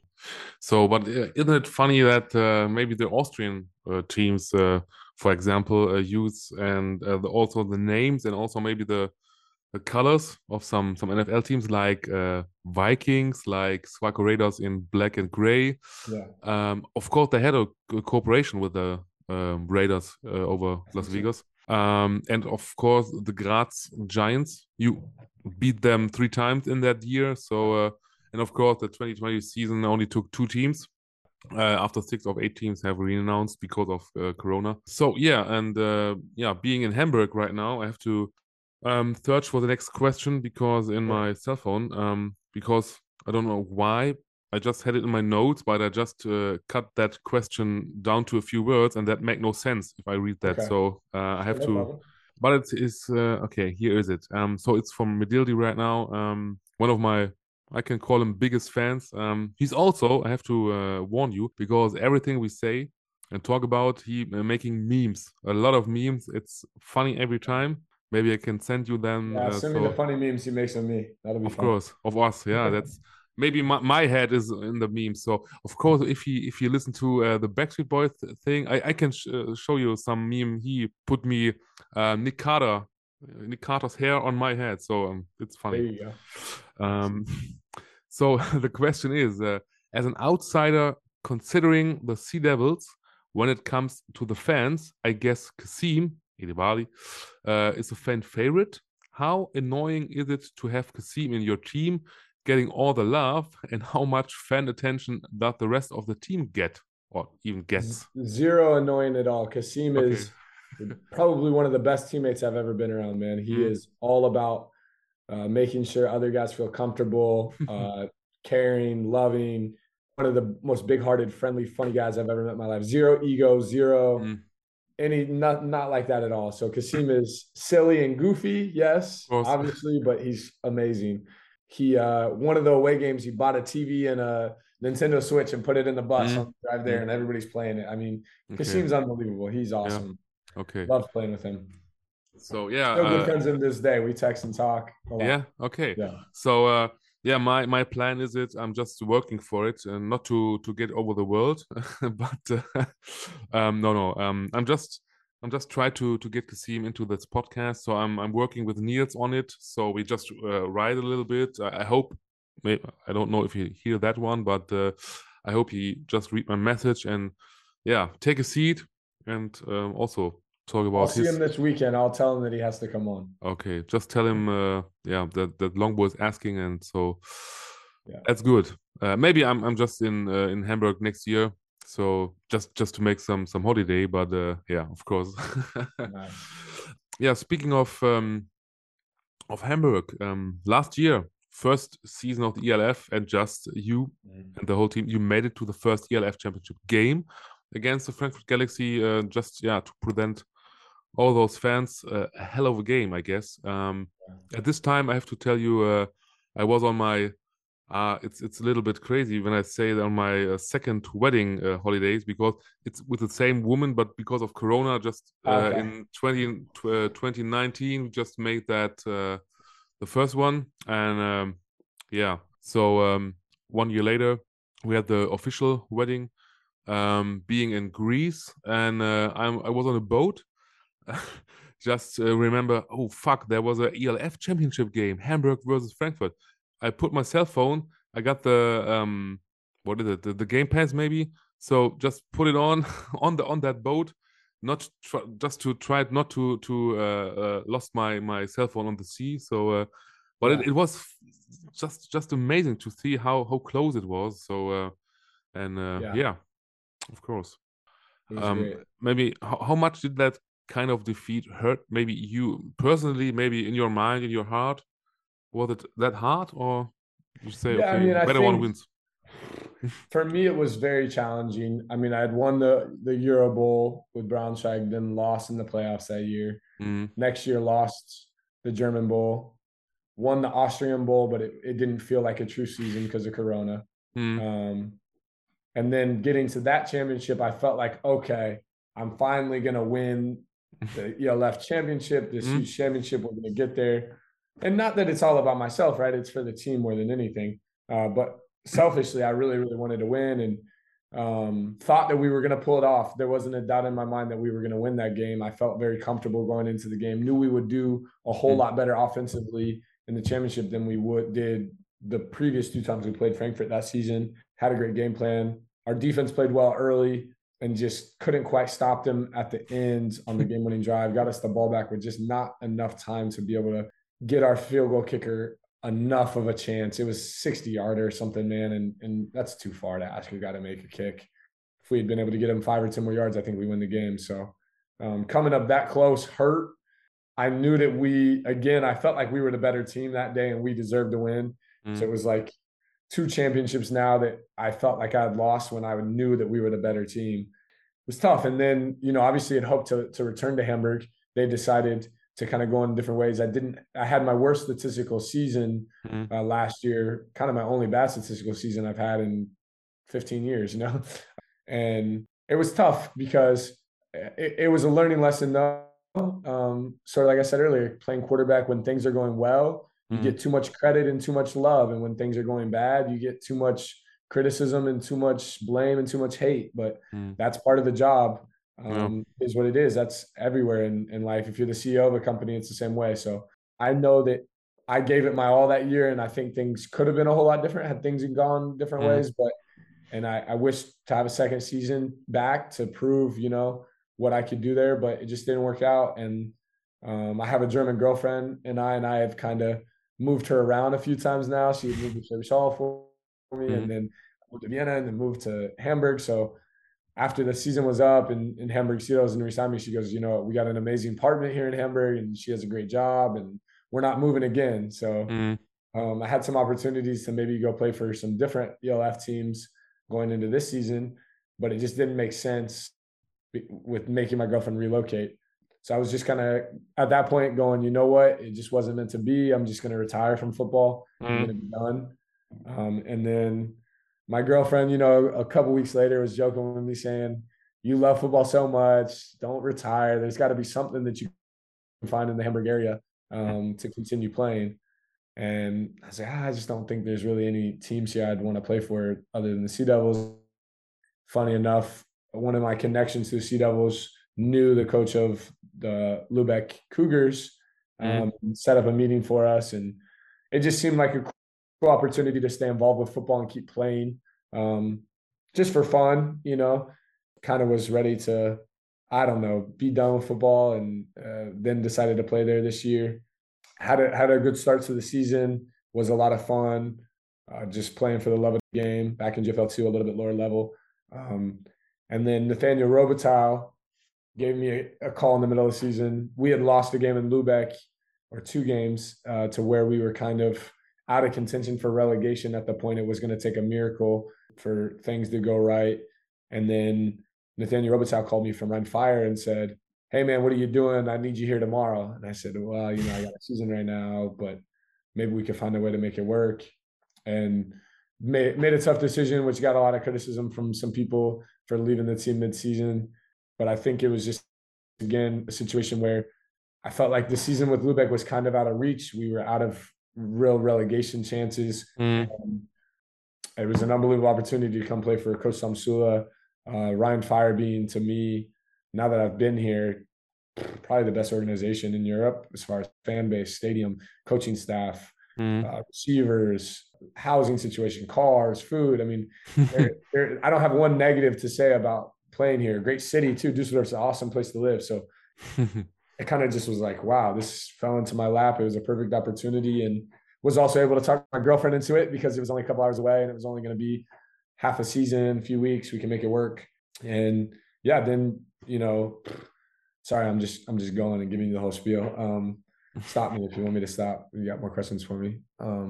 So, but isn't it funny that maybe the Austrian teams, for example, use and also the names and also maybe the colors of some NFL teams like Vikings, like Swaco Raiders in black and gray. Of course, they had a cooperation with the Raiders over Las Vegas. And of course, the Graz Giants, you beat them 3 times in that year. So, and of course, the 2020 season only took 2 teams. After 6 of 8 teams have renounced because of Corona. So, being in Hamburg right now, I have to search for the next question because in my cell phone, because I don't know why, I just had it in my notes, but I just cut that question down to a few words, and that make no sense if I read that. So I have to. But it is okay. Here is it. So it's from Medildi right now. One of my, I can call him, biggest fans. He's also, I have to warn you, because everything we say and talk about, he making memes, a lot of memes. It's funny every time. Maybe I can send you them. Send me the funny memes he makes of me. That'll be fun. Of course, of us. Yeah, that's maybe my head is in the meme. So of course, if you listen to the Backstreet Boys thing, I can show you some meme. He put me Nick Carter's hair on my head, so it's funny. There you go. So the question is, as an outsider considering the Sea Devils, when it comes to the fans, I guess Kasim Edebali is a fan favorite. How annoying is it to have Kasim in your team, getting all the love, and how much fan attention does the rest of the team get, or even gets? Zero annoying at all. Kasim is probably one of the best teammates I've ever been around, man. He is all about making sure other guys feel comfortable, caring, loving. One of the most big-hearted, friendly, funny guys I've ever met in my life. Zero ego, zero any, not like that at all. So Kasim is silly and goofy, yes, obviously, but he's amazing. He one of the away games, he bought a TV and a Nintendo Switch and put it in the bus on the drive there, and everybody's playing it. I mean, Kasim's unbelievable. He's awesome. Yeah. Okay. Love playing with him. So yeah, still good friends in this day. We text and talk a lot. Yeah. Okay. Yeah. So yeah, my plan is I'm just working for it, and not to get over the world, but no. I'm just trying to get Kasim into this podcast. So I'm working with Niels on it. So we just write a little bit. I hope. Maybe, I don't know if you hear that one, but I hope he just read my message and yeah, take a seat and also talk about. I'll see him this weekend. I'll tell him that he has to come on. Okay, just tell him yeah, that Longbow is asking, and so yeah, that's good. Maybe I'm just in Hamburg next year, so just to make some holiday. But yeah, of course. Nice. Yeah, speaking of Hamburg, last year, first season of the ELF, and just you and the whole team, you made it to the first ELF championship game against the Frankfurt Galaxy. Just yeah, to present all those fans a hell of a game, I guess. At this time, I have to tell you, I was on my it's a little bit crazy when I say that on my second wedding holidays, because it's with the same woman, but because of Corona, just in 2019, we just made that the first one, and yeah, so 1 year later, we had the official wedding, being in Greece, and I was on a boat. Just remember, oh fuck, there was a ELF championship game, Hamburg versus Frankfurt. I put my cell phone, I got the what is it, the Game Pass maybe, so just put it on that boat, just to try not to lost my cell phone on the sea. So but yeah, it was just amazing to see how close it was. So and yeah, of course. Maybe how much did that kind of defeat hurt? Maybe you personally, maybe in your mind, in your heart, was it that hard, or you say, yeah, okay, I mean, better one wins? For me, it was very challenging. I mean, I had won the Euro Bowl with Braunschweig, then lost in the playoffs that year. Next year, lost the German Bowl, won the Austrian Bowl, but it didn't feel like a true season because of Corona. And then getting to that championship, I felt like, okay, I'm finally going to win the ELF championship, this huge championship. We're going to get there. And not that it's all about myself, right? It's for the team more than anything. But selfishly, I really, really wanted to win, and thought that we were going to pull it off. There wasn't a doubt in my mind that we were going to win that game. I felt very comfortable going into the game, knew we would do a whole lot better offensively in the championship than we did the previous 2 times we played Frankfurt that season. Had a great game plan. Our defense played well early and just couldn't quite stop them at the end on the game-winning drive. Got us the ball back with just not enough time to be able to get our field goal kicker enough of a chance. It was 60-yarder or something, man, and that's too far to ask a guy to make a kick. If we had been able to get him 5 or 10 more yards, I think we win the game. So coming up that close hurt. I knew that I felt like we were the better team that day and we deserved to win. So it was like 2 championships now that I felt like I had lost when I knew that we were the better team. It was tough. And then, obviously I'd hoped to return to Hamburg. They decided to kind of go in different ways. I had my worst statistical season last year, kind of my only bad statistical season I've had in 15 years, and it was tough because it was a learning lesson though. Sort of like I said earlier, playing quarterback when things are going well, You get too much credit and too much love. And when things are going bad, you get too much criticism and too much blame and too much hate. But that's part of the job, is what it is. That's everywhere in life. If you're the CEO of a company, it's the same way. So I know that I gave it my all that year, and I think things could have been a whole lot different had things gone different ways. But I wish to have a second season back to prove, what I could do there, but it just didn't work out. And I have a German girlfriend, and I have kind of moved her around a few times now. She moved to Schwäbisch for me, and then moved to Vienna, and then moved to Hamburg. So after the season was up in Hamburg Seals and re-signed me, she goes, we got an amazing apartment here in Hamburg, and she has a great job, and we're not moving again. So I had some opportunities to maybe go play for some different ELF teams going into this season, but it just didn't make sense with making my girlfriend relocate. So I was just kind of at that point going, you know what, it just wasn't meant to be. I'm just going to retire from football. I'm going to be done. And then my girlfriend, a couple weeks later was joking with me saying, you love football so much, don't retire. There's got to be something that you can find in the Hamburg area to continue playing. And I was like, I just don't think there's really any teams here I'd want to play for other than the Sea Devils. Funny enough, one of my connections to the Sea Devils knew the coach of the Lübeck Cougars, set up a meeting for us. And it just seemed like a cool opportunity to stay involved with football and keep playing just for fun, kind of was ready to, be done with football, and then decided to play there this year. Had a good start to the season, was a lot of fun, just playing for the love of the game back in GFL2, a little bit lower level. And then Nathaniel Robitaille gave me a call in the middle of the season. We had lost a game in Lübeck, or 2 games, to where we were kind of out of contention for relegation at the point. It was going to take a miracle for things to go right. And then Nathaniel Robitaille called me from Rhein Fire and said, hey man, what are you doing? I need you here tomorrow. And I said, well, I got a season right now, but maybe we could find a way to make it work. And made a tough decision, which got a lot of criticism from some people for leaving the team mid-season. But I think it was just, again, a situation where I felt like the season with Lübeck was kind of out of reach. We were out of real relegation chances. It was an unbelievable opportunity to come play for Coach Samsula. Rhein Fire being, to me, now that I've been here, probably the best organization in Europe as far as fan base, stadium, coaching staff, receivers, housing situation, cars, food. I mean, I don't have one negative to say about playing here. Great city too. Dusseldorf's an awesome place to live. So it kind of just was like, wow, this fell into my lap. It was a perfect opportunity, and was also able to talk my girlfriend into it because it was only a couple hours away, and it was only going to be half a season, a few weeks. We can make it work. And yeah, then, sorry, I'm just going and giving you the whole spiel. Stop me if you want me to stop. You got more questions for me.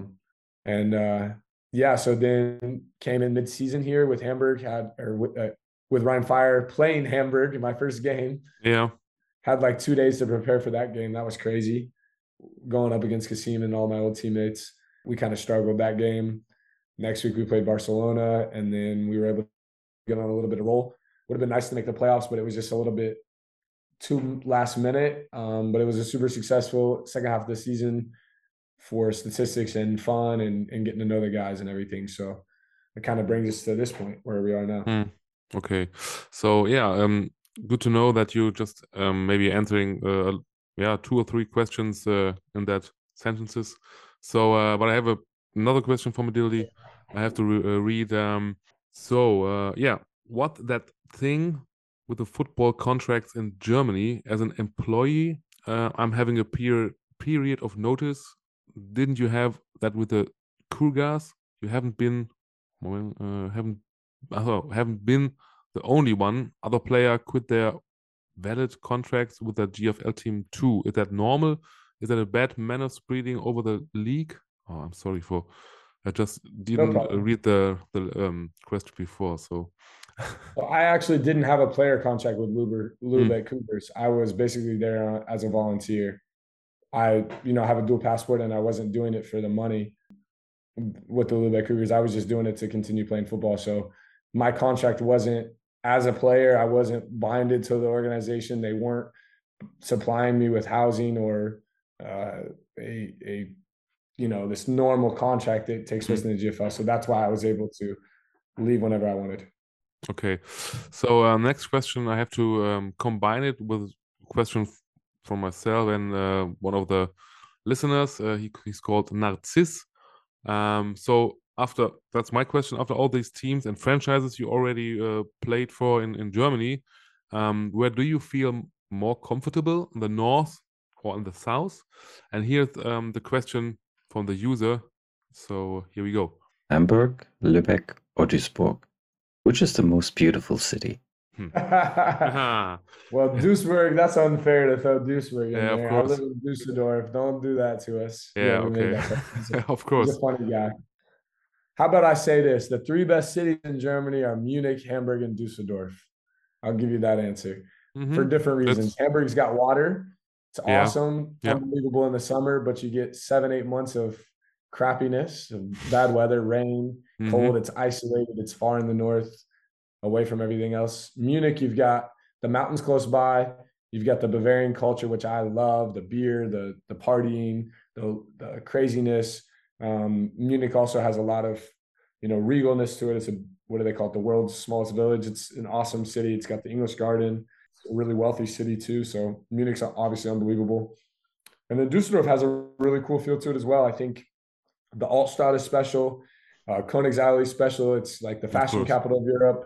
So then came in mid-season here with Hamburg, with Rhein Fire, playing Hamburg in my first game. Yeah. Had like 2 days to prepare for that game. That was crazy. Going up against Kasim and all my old teammates. We kind of struggled that game. Next week we played Barcelona, and then we were able to get on a little bit of roll. Would have been nice to make the playoffs, but it was just a little bit too last minute. But it was a super successful second half of the season for statistics and fun and getting to know the guys and everything. So it kind of brings us to this point where we are now. Okay. So yeah, good to know that you just maybe answering 2 or 3 questions in that sentences. So but I have another question for Medildi. I have to read. What that thing with the football contracts in Germany as an employee? I'm having a period of notice. Didn't you have that with the Cougars? You haven't been the only one. Other player quit their valid contracts with the GFL team too. Is that normal? Is that a bad manner spreading over the league? Oh, I'm sorry I just didn't read the question before. So well, I actually didn't have a player contract with Lübeck Cougars. I was basically there as a volunteer. I have a dual passport, and I wasn't doing it for the money with the Lübeck Cougars. I was just doing it to continue playing football. So my contract wasn't, as a player, I wasn't binded to the organization. They weren't supplying me with housing or a this normal contract that takes place in the GFL. So that's why I was able to leave whenever I wanted. Okay. So next question, I have to combine it with a question from myself and one of the listeners. He's called Narciss. So that's my question. After all these teams and franchises you already played for in Germany, where do you feel more comfortable, in the north or in the south? And here's the question from the user. So here we go. Hamburg, Lübeck, or Duisburg? Which is the most beautiful city? Well, Duisburg, that's unfair to throw Duisburg in there. Of course. I live in Dusseldorf. Don't do that to us. Yeah, okay. Of course. He's a funny guy. How about I say this? The 3 best cities in Germany are Munich, Hamburg, and Dusseldorf. I'll give you that answer for different reasons. Hamburg's got water. It's awesome. Unbelievable in the summer, but you get 7-8 months of crappiness, of bad weather, rain, cold. It's isolated. It's far in the north, away from everything else. Munich, you've got the mountains close by. You've got the Bavarian culture, which I love, the beer, the partying, the craziness. Munich also has a lot of, regalness to it. It's what do they call it? The world's smallest village. It's an awesome city. It's got the English Garden. It's a really wealthy city too. So Munich's obviously unbelievable. And then Dusseldorf has a really cool feel to it as well. I think the Altstadt is special. Königsallee is special. It's like the fashion capital of Europe.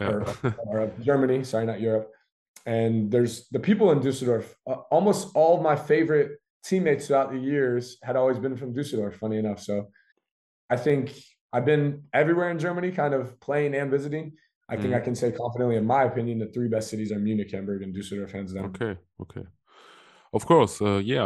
Or of Germany. Sorry, not Europe. And there's the people in Dusseldorf. Almost all of my favorite teammates throughout the years had always been from Dusseldorf, funny enough. So I think I've been everywhere in Germany, kind of playing and visiting. I think I can say confidently, in my opinion, the 3 best cities are Munich, Hamburg, and Dusseldorf, hands down. Okay. Of course,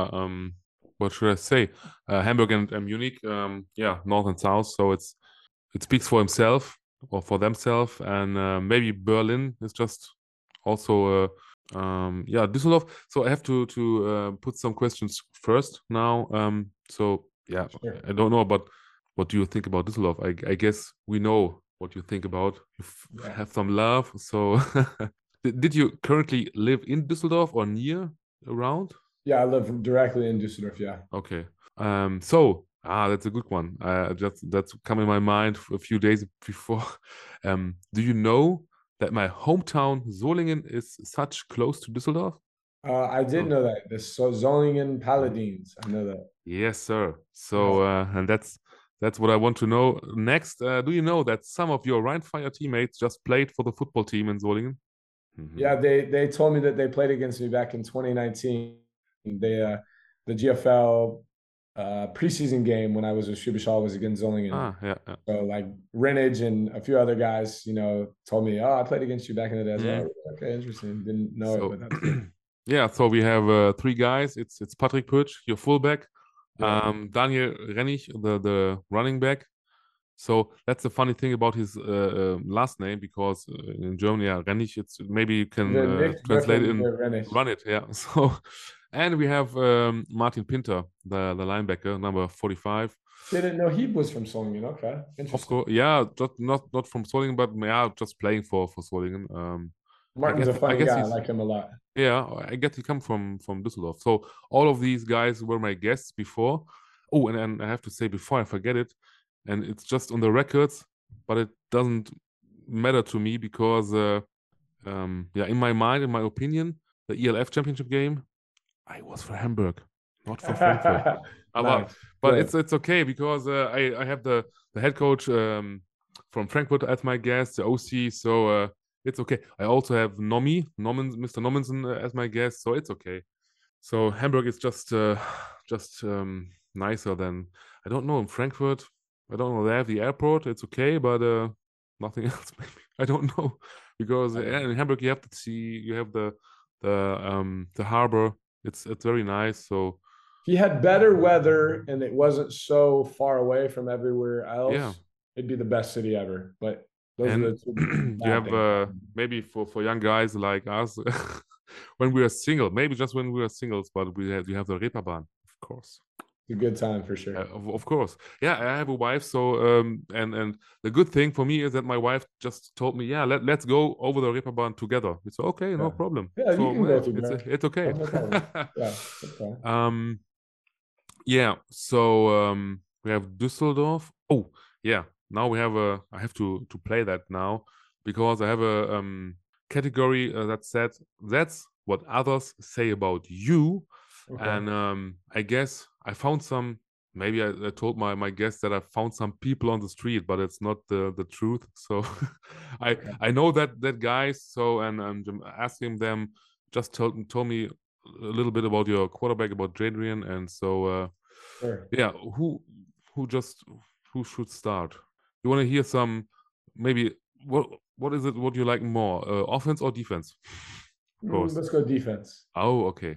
what should I say? Hamburg and Munich, north and south. So it speaks for himself or for themselves. And maybe Berlin is just also Düsseldorf. So I have to put some questions first now. Sure. I don't know, but what do you think about Düsseldorf? I guess we know what you think about. You have some love. So did you currently live in Düsseldorf or near around? Yeah, I live directly in Düsseldorf. Yeah. Okay. That's a good one. That's come in my mind a few days before. Do you know that my hometown Solingen is such close to Düsseldorf? I did know that. The Solingen Paladins. I know that. Yes, sir. So and that's what I want to know next. Do you know that some of your Rheinfire teammates just played for the football team in Solingen? Yeah, they told me that they played against me back in 2019. The GFL preseason game when I was with Schwäbisch Hall was against Solingen. So like Renage and a few other guys, told me, I played against you back in the day. I was like, okay, interesting. Didn't know it, but that's good. Yeah, so we have 3 guys. It's Patrick Pötsch, your fullback. Daniel Rennig, the running back. So that's the funny thing about his last name, because in Germany, Rennig, it's maybe you can translate it in run it. Yeah. So, and we have Martin Pinter, the linebacker, number 45. Didn't know he was from Solingen. Okay, interesting. Of course, yeah, just not from Solingen, but just playing for Solingen. Martin's a funny guy. I like him a lot. Yeah, I guess he comes from Düsseldorf. So all of these guys were my guests before. Oh, and I have to say before I forget it, and it's just on the records, but it doesn't matter to me because, in my mind, in my opinion, the ELF championship game, I was for Hamburg, not for Frankfurt. Nice. But it's okay because I have the head coach from Frankfurt as my guest, the OC. So it's okay. I also have Mr. Nommensen as my guest, so it's okay. So Hamburg is just nicer than, I don't know, in Frankfurt. I don't know, they have the airport. It's okay, but nothing else. Maybe I don't know, because in Hamburg you have the sea, you have the harbor. It's very nice. So he had better weather, and it wasn't so far away from everywhere else. Yeah. It'd be the best city ever. But those and are the two you have maybe for young guys like us, when we are single, maybe just when we are singles, but we have the Reeperbahn, of course. It's a good time for sure. Of course. Yeah, I have a wife, so and the good thing for me is that my wife just told me, let's go over the Reeperbahn together. It's okay, no problem. Yeah, so, you can go together. It's okay. No problem. Yeah, okay. Yeah, so we have Düsseldorf. Oh, yeah. Now we have I have to play that now because I have a category that said that's what others say about you. Okay. And I guess I found some. Maybe I told my guests that I found some people on the street, but it's not the truth. So I know that guys. So and I'm asking them. Just told me a little bit about your quarterback, about Jadrian, and so Sure. yeah, who should start? You want to hear some maybe what is it? What you like more, offense or defense? Of course. Let's go defense. Oh, okay.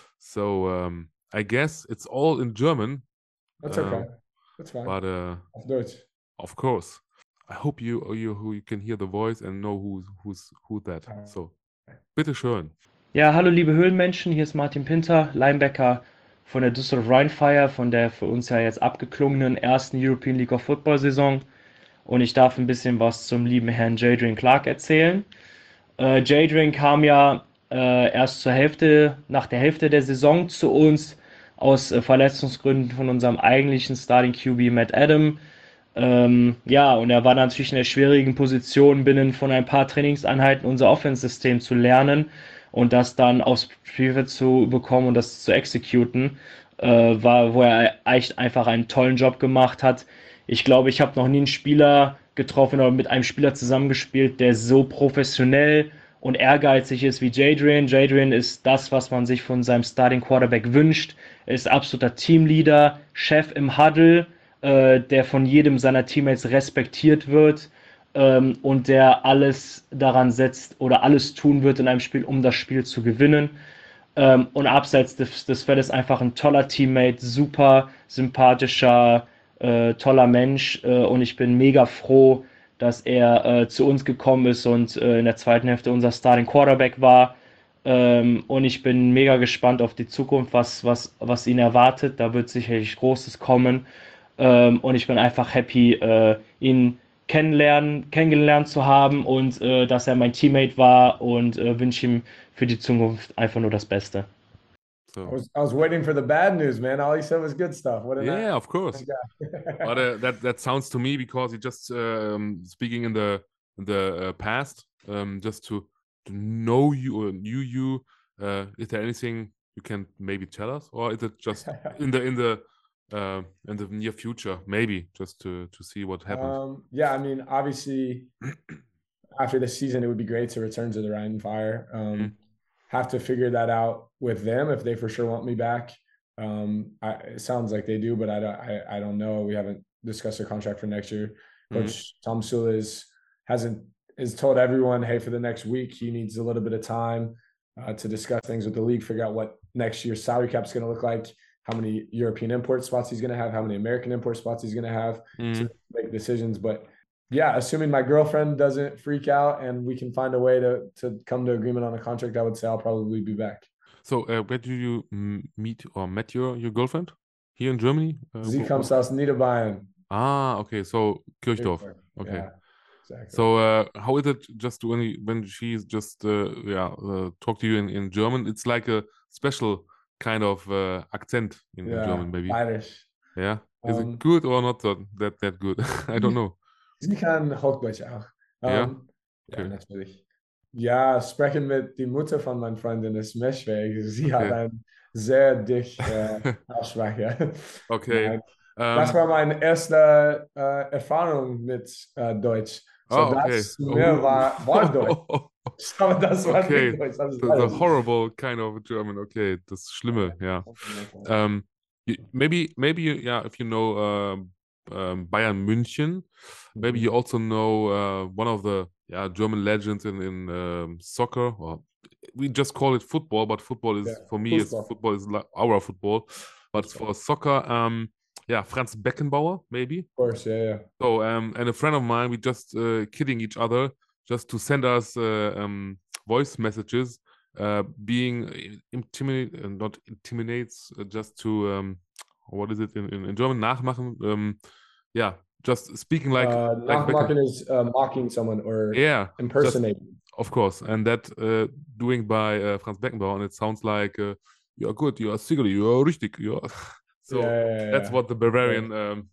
So I guess it's all in German. That's okay. That's fine. But Auf Deutsch. Of course. I hope you can hear the voice and know who that. So, bitteschön. Ja, hallo liebe Höhlenmenschen, hier ist Martin Pinter, Linebacker von der Düsseldorf Rheinfire, von der für uns ja jetzt abgeklungenen ersten European League of Football Saison. Und ich darf ein bisschen was zum lieben Herrn Jadrian Clark erzählen. Jadrian kam ja erst nach der Hälfte der Saison zu uns aus Verletzungsgründen von unserem eigentlichen Starting QB Matt Adam. Ja, und er war natürlich in der schwierigen Position, binnen von ein paar Trainingseinheiten unser Offense-System zu lernen und das dann aufs Spielfeld zu bekommen und das zu exekuten, wo er echt einfach einen tollen Job gemacht hat. Ich glaube, ich habe noch nie einen Spieler getroffen oder mit einem Spieler zusammengespielt, der so professionell und ehrgeizig ist wie Jadrian. Jadrian ist das, was man sich von seinem Starting Quarterback wünscht. Er ist absoluter Teamleader, Chef im Huddle, der von jedem seiner Teammates respektiert wird und der alles daran setzt oder alles tun wird in einem Spiel, um das Spiel zu gewinnen. Und abseits des Feldes einfach ein toller Teammate, super sympathischer, toller Mensch. Und ich bin mega froh, dass er zu uns gekommen ist und in der zweiten Hälfte unser Starting Quarterback war. Und ich bin mega gespannt auf die Zukunft, was ihn erwartet. Da wird sicherlich Großes kommen. Und ich bin einfach happy, ihn kennengelernt zu haben und dass er mein Teammate war und wünsche ihm für die Zukunft einfach nur das Beste. So. I was waiting for the bad news, man. All he said was good stuff. Yeah, of course. But that sounds to me because he just speaking in the past, just to know you or knew you. Is there anything you can maybe tell us, or is it just in the near future, maybe just to see what happens? Yeah, I mean, obviously, after the season, it would be great to return to the Rheinfire. Have to figure that out with them if they for sure want me back. It sounds like they do, but I don't know. We haven't discussed a contract for next year. Coach Tom Sula has told everyone, hey, for the next week, he needs a little bit of time to discuss things with the league, figure out what next year's salary cap is going to look like, how many European import spots he's going to have, how many American import spots he's going to have to make decisions. But yeah, assuming my girlfriend doesn't freak out and we can find a way to come to agreement on a contract, I would say I'll probably be back. So where do you met your girlfriend? Here in Germany? Sie comes aus Niederbayern. Ah, okay. So Kirchdorf. Okay. Yeah, exactly. So how is it just when she's just talk to you in German? It's like a special kind of accent in German, maybe. Irish. Yeah. Is it good or not that good? I don't know. Sie kann Hochdeutsch auch. Ja, natürlich. Ja, sprechen mit der Mutter von meiner Freundin ist mir schwer. Sie hat einen sehr dichten Aussprache. Okay. Das war meine erste Erfahrung mit Deutsch. So das mir war Deutsch. Aber das war nicht Deutsch. The horrible kind of German. Okay, das Schlimme, ja. Maybe, if you know Bayern München, maybe you also know one of the German legends in soccer. Or we just call it football, but football is for me football is like our football. But for soccer, Franz Beckenbauer, maybe. Of course, yeah. So and a friend of mine, we just kidding each other just to send us voice messages, being not intimidates, just to what is it in German? Nachmachen. Just speaking like nachmachen is mocking someone or impersonating. Of course, and that doing by Franz Beckenbauer, and it sounds like you are good, you are sicherlich, you are richtig, you are So that's what the Bavarian,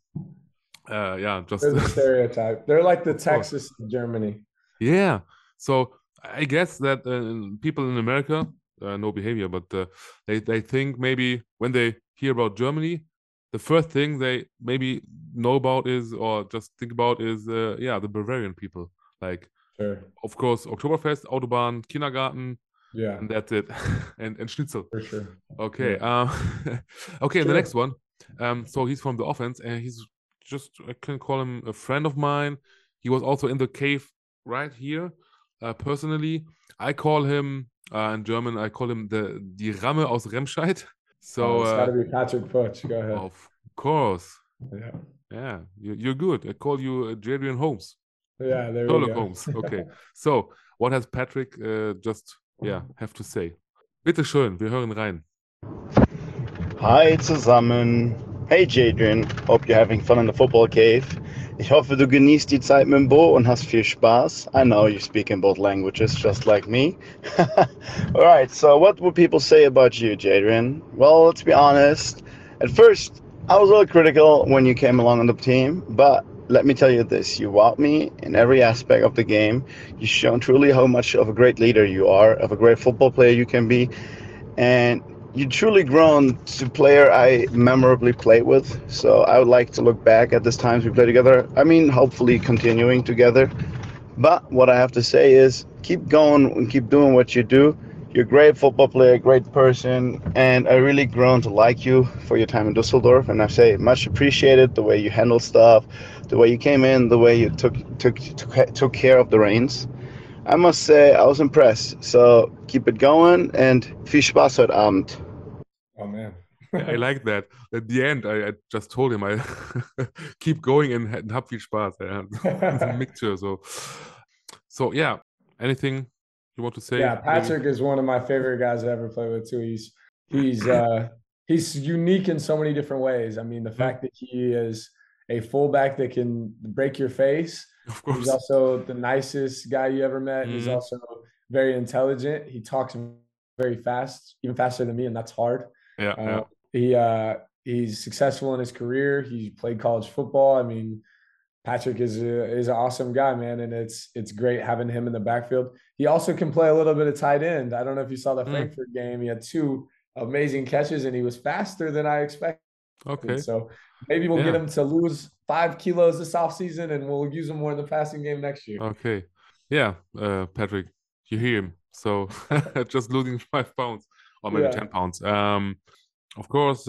just they're the stereotype. They're like the Of course. Texas of Germany. Yeah. So I guess that people in America no behavior, but they think maybe when they hear about Germany, the first thing they maybe know about is or just think about is the Bavarian people. Like, Sure. of course, Oktoberfest, Autobahn, Kindergarten, Yeah, and that's it. and Schnitzel. for sure. Okay. Yeah. Okay, and the Sure. next one. So he's from the offense, and he's just, I can call him a friend of mine. He was also in the cave right here. Personally, I call him in German. I call him die Ramme aus Remscheid. So It's got to be Patrick Putsch. Go ahead. of course, Yeah, you're good. I call you Jadrian Holmes, yeah. There we Sherlock go. Holmes. Okay. So what has Patrick just have to say? Bitte schön, wir hören rein. Hi zusammen. Hey Jadrian, hope you're having fun in the football cave. Ich hoffe, du genießt die Zeit mit dem Bo und hast viel Spaß. I know you speak in both languages, just like me. Alright, so what would people say about you, Jadrian? Well, let's be honest. At first, I was a little critical when you came along on the team, but let me tell you this, you wowed me in every aspect of the game. You've shown truly how much of a great leader you are, of a great football player you can be, and you truly grown to player I memorably played with. So I would like to look back at these times we played together. I mean, hopefully continuing together. But what I have to say is keep going and keep doing what you do. You're a great football player, great person, and I really grown to like you for your time in Dusseldorf. And I say much appreciated the way you handled stuff, the way you came in, the way you took care of the reins. I must say I was impressed. So keep it going and viel Spaß heute Abend. Oh man. I like that. At the end, I just told him I keep going and hab viel Spaß. Yeah. It's a mixture. So yeah. Anything you want to say? Yeah, Patrick is one of my favorite guys I ever played with too. He's unique in so many different ways. I mean, the fact that he is a fullback that can break your face. Of course. He's also the nicest guy you ever met. He's also very intelligent. He talks very fast, even faster than me, and that's hard. He's successful in his career. He played college football. I mean, Patrick is an awesome guy, man, and it's great having him in the backfield. He also can play a little bit of tight end. I don't know if you saw the Frankfurt game. He had 2 amazing catches, and he was faster than I expected. Okay. So maybe we'll get him to lose 5 kilos this offseason, and we'll use him more in the passing game next year. Okay. Yeah, Patrick, you hear him. So just losing 5 pounds or maybe 10 pounds. Of course,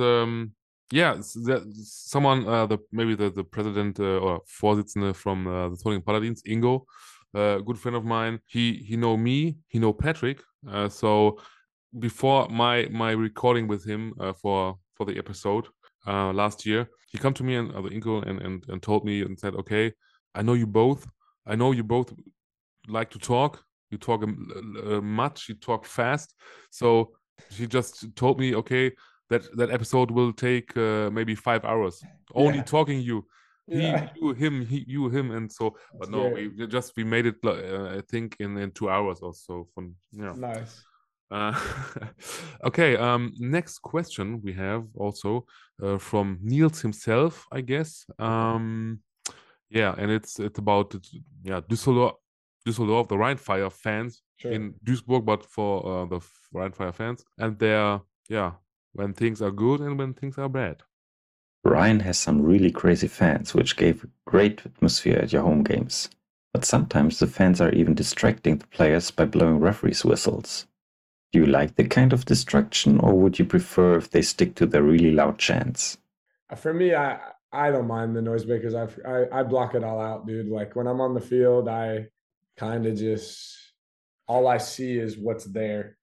someone, maybe the president or Vorsitzende from the Thüringen Paladins, Ingo, good friend of mine. He know me, he know Patrick. So before my recording with him for the episode last year, he come to me and Ingo and told me and said, okay, I know you both like to talk. You talk much. You talk fast. So he just told me, okay, that episode will take maybe 5 hours. Only talking you. You, him, and so. But no, we made it. I think in 2 hours or so. Nice. Okay. Next question we have also from Niels himself, I guess. And it's about Düsseldorf, the Rheinfire fans in Duisburg, but for the Rheinfire fans, and they're when things are good and when things are bad. Rhein has some really crazy fans, which gave a great atmosphere at your home games. But sometimes the fans are even distracting the players by blowing referees' whistles. Do you like the kind of distraction, or would you prefer if they stick to their really loud chants? For me, I don't mind the noisemakers. I block it all out, dude. Like when I'm on the field, I kind of just all I see is what's there.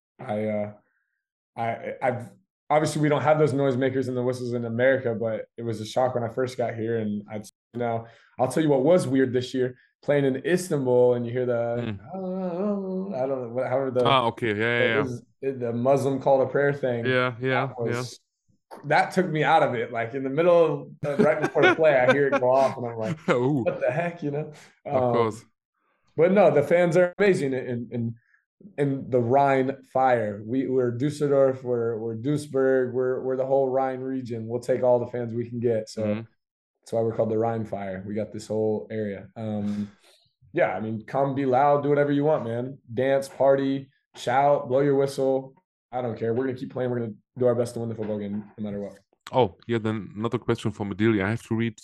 I've obviously we don't have those noisemakers and the whistles in America, but it was a shock when I first got here. And I'll tell you what was weird this year, playing in Istanbul, and you hear the I don't know however the Muslim call to prayer thing. That took me out of it. Like in the middle of right before the play, I hear it go off, and I'm like, what the heck, Of course. But no, the fans are amazing, and in the Rhine Fire. We're Dusseldorf, we're Duisburg, we're the whole Rhine region. We'll take all the fans we can get. So that's why we're called the Rhine Fire. We got this whole area. Yeah, I mean, come, be loud, do whatever you want, man. Dance, party, shout, blow your whistle. I don't care. We're gonna keep playing. We're gonna do our best to win the football game, no matter what. Oh, yeah, then another question from Adelia. I have to read.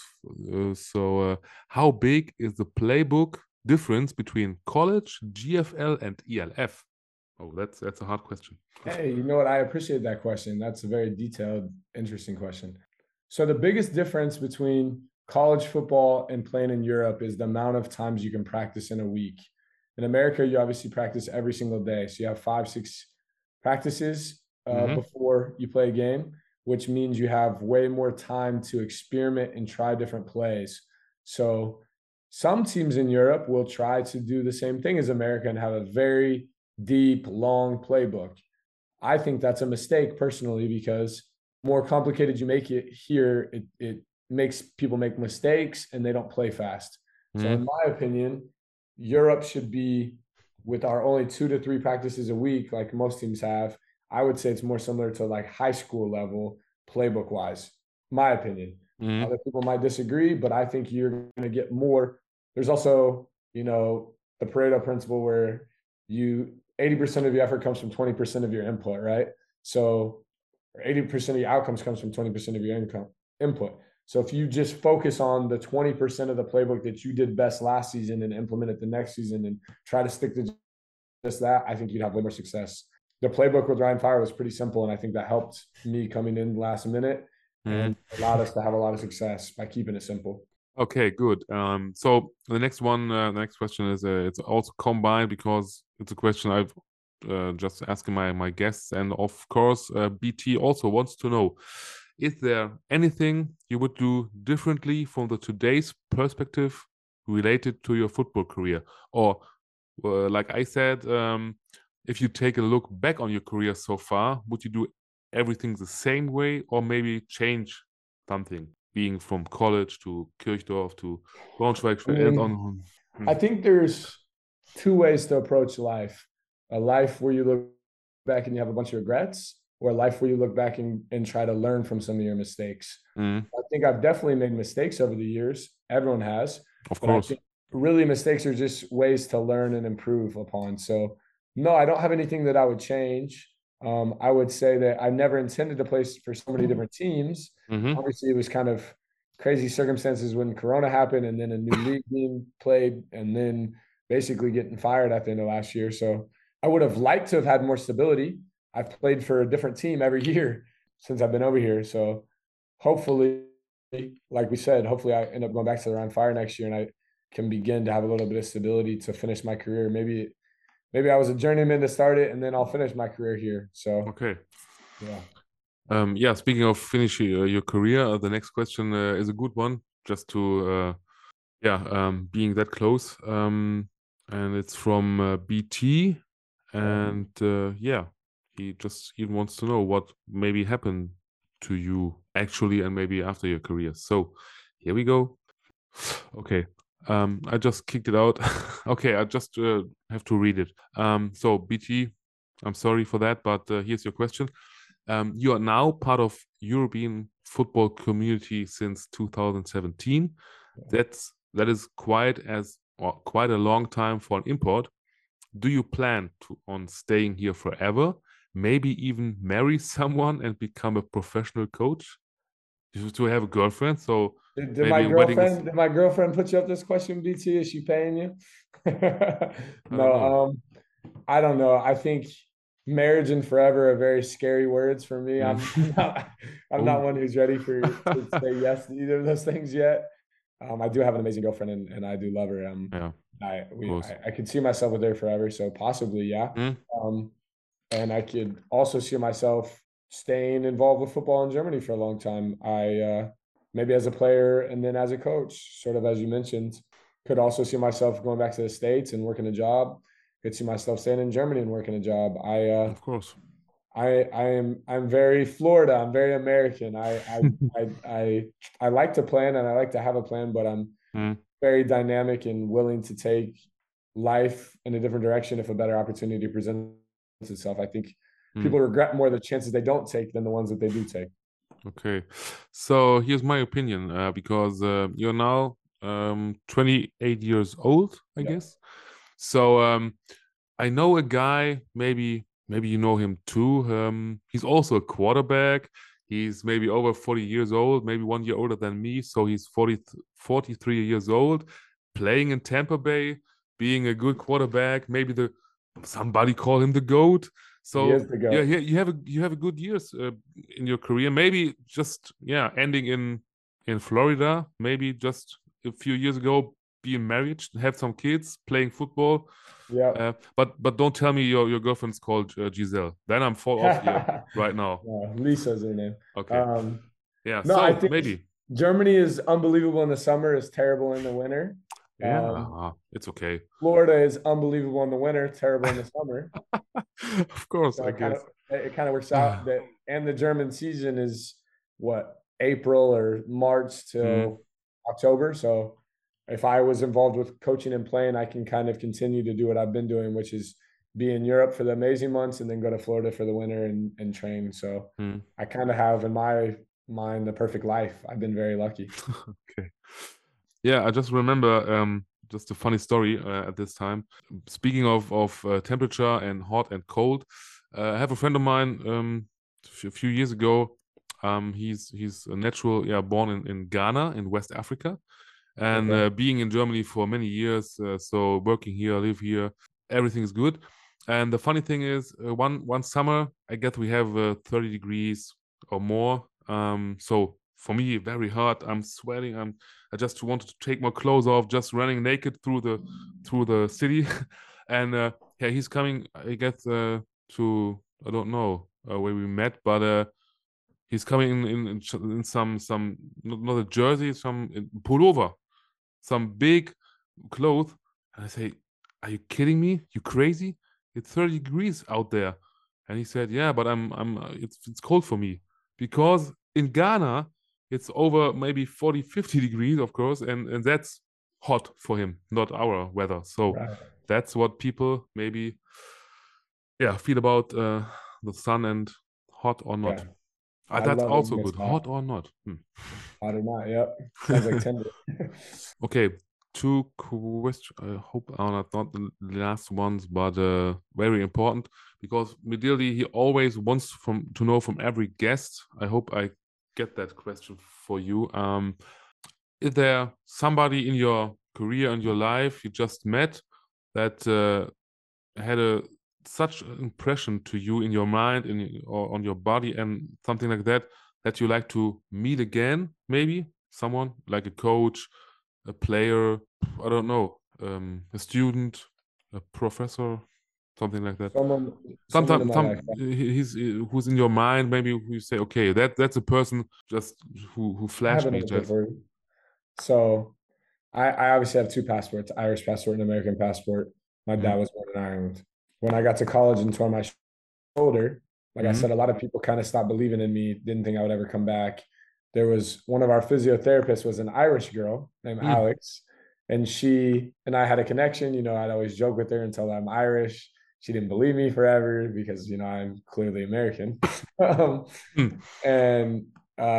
How big is the playbook difference between college, GFL, and ELF? Oh, that's a hard question. Hey, you know what? I appreciate that question. That's a very detailed, interesting question. So the biggest difference between college football and playing in Europe is the amount of times you can practice in a week. In America, you obviously practice every single day. So you have 5-6 practices before you play a game, which means you have way more time to experiment and try different plays. So some teams in Europe will try to do the same thing as America and have a very deep, long playbook. I think that's a mistake personally, because more complicated you make it here, it makes people make mistakes and they don't play fast. So in my opinion, Europe should be, with our only 2 to 3 practices a week, like most teams have, I would say it's more similar to like high school level playbook wise, my opinion. Other people might disagree, but I think you're going to get more. There's also, you know, the Pareto principle where 80% of your effort comes from 20% of your input, right? So 80% of your outcomes comes from 20% of your input. So if you just focus on the 20% of the playbook that you did best last season and implement it the next season and try to stick to just that, I think you'd have way more success. The playbook with Rhine Fire was pretty simple, and I think that helped me coming in last minute and allowed us to have a lot of success by keeping it simple. Okay, good. So the next question is it's also combined, because it's a question I've just asking my guests, and of course BT also wants to know: is there anything you would do differently from the today's perspective related to your football career? Or like I said, if you take a look back on your career so far, would you do everything the same way, or maybe change something, being from college to Kirchdorf to Braunschweig? I think there's 2 ways to approach life. A life where you look back and you have a bunch of regrets, or a life where you look back and try to learn from some of your mistakes. I think I've definitely made mistakes over the years. Everyone has. Of course. Really, mistakes are just ways to learn and improve upon. So no, I don't have anything that I would change. I would say that I never intended to play for so many different teams. Obviously, it was kind of crazy circumstances when Corona happened, and then a new league being played, and then basically getting fired at the end of last year. So I would have liked to have had more stability. I've played for a different team every year since I've been over here. So hopefully, like we said, hopefully I end up going back to the Rhine Fire next year and I can begin to have a little bit of stability to finish my career. Maybe I was a journeyman to start it, and then I'll finish my career here. So okay, yeah. Speaking of finishing your career, the next question is a good one, just to being that close. And it's from BT, and he just even wants to know what maybe happened to you actually, and maybe after your career. So here we go. Okay. I just kicked it out. Okay, I just have to read it. So BT, I'm sorry for that, but here's your question. You are now part of European football community since 2017. That is quite a long time for an import. Do you plan on staying here forever? Maybe even marry someone and become a professional coach? To have a girlfriend? So did my girlfriend put you up this question, BT? Is she paying you? No, I don't know. I think marriage and forever are very scary words for me. I'm not one who's ready to say yes to either of those things yet. I do have an amazing girlfriend, and I do love her. I could see myself with her forever, so possibly, yeah. And I could also see myself staying involved with football in Germany for a long time. Maybe as a player and then as a coach, sort of as you mentioned. Could also see myself going back to the States and working a job. Could see myself staying in Germany and working a job. Of course. I'm very Florida. I'm very American. I like to plan and I like to have a plan, but I'm very dynamic and willing to take life in a different direction if a better opportunity presents itself. I think people regret more the chances they don't take than the ones that they do take. Okay, so here's my opinion, because you're now 28 years old, I guess. So I know a guy, maybe you know him too. He's also a quarterback. He's maybe over 40 years old, maybe 1 year older than me. So he's 43 years old, playing in Tampa Bay, being a good quarterback. Maybe somebody call him the GOAT. So yeah, you have a good years in your career. Maybe just ending in Florida. Maybe just a few years ago, being married, have some kids, playing football. Yeah. But don't tell me your girlfriend's called Giselle. Then I'm fall off here right now. Lisa's her name. Okay. Yeah. No, so I think maybe Germany is unbelievable in the summer, is terrible in the winter. Yeah, it's okay. Florida is unbelievable in the winter, terrible in the summer. Of course, so I guess it kind of works out. And the German season is what, April or March to October. So if I was involved with coaching and playing, I can kind of continue to do what I've been doing, which is be in Europe for the amazing months and then go to Florida for the winter and train. So I kind of have in my mind the perfect life. I've been very lucky. Okay. Yeah, I just remember just a funny story at this time. Speaking of temperature and hot and cold, I have a friend of mine a few years ago. He's a natural, born in Ghana in West Africa, and being in Germany for many years. So working here, live here, everything is good. And the funny thing is, one summer I guess we have 30 degrees or more. So for me, very hot. I'm sweating. I just wanted to take my clothes off, just running naked through the city. And he's coming, I guess, to, I don't know where we met, but he's coming in some not a jersey, some pullover, some big clothes. And I say, "Are you kidding me? You crazy? It's 30 degrees out there." And he said, "Yeah, but it's cold for me because in Ghana it's over maybe 40, 50 degrees, of course, and that's hot for him, not our weather." So that's what people maybe feel about the sun and hot or not. That's also good. Hot or not. Hot or not, yep. Sounds like tender. Okay, 2 questions. I hope are not the last ones, but very important, because ideally he always wants to know from every guest. I hope I get that question for you. Is there somebody in your career and your life you just met that had such an impression to you in your mind or on your body and something like that you like to meet again? Maybe someone like a coach, a player, I don't know, a student, a professor, something like that. Someone who's in your mind, maybe who you say, okay, that's a person just who flashed me. So I obviously have 2 passports, Irish passport and American passport. My dad was born in Ireland. When I got to college and tore my shoulder, like I said, a lot of people kind of stopped believing in me, didn't think I would ever come back. There was one of our physiotherapists was an Irish girl named Alex, and she and I had a connection. You know, I'd always joke with her and tell her I'm Irish. She didn't believe me forever because, you know, I'm clearly American. And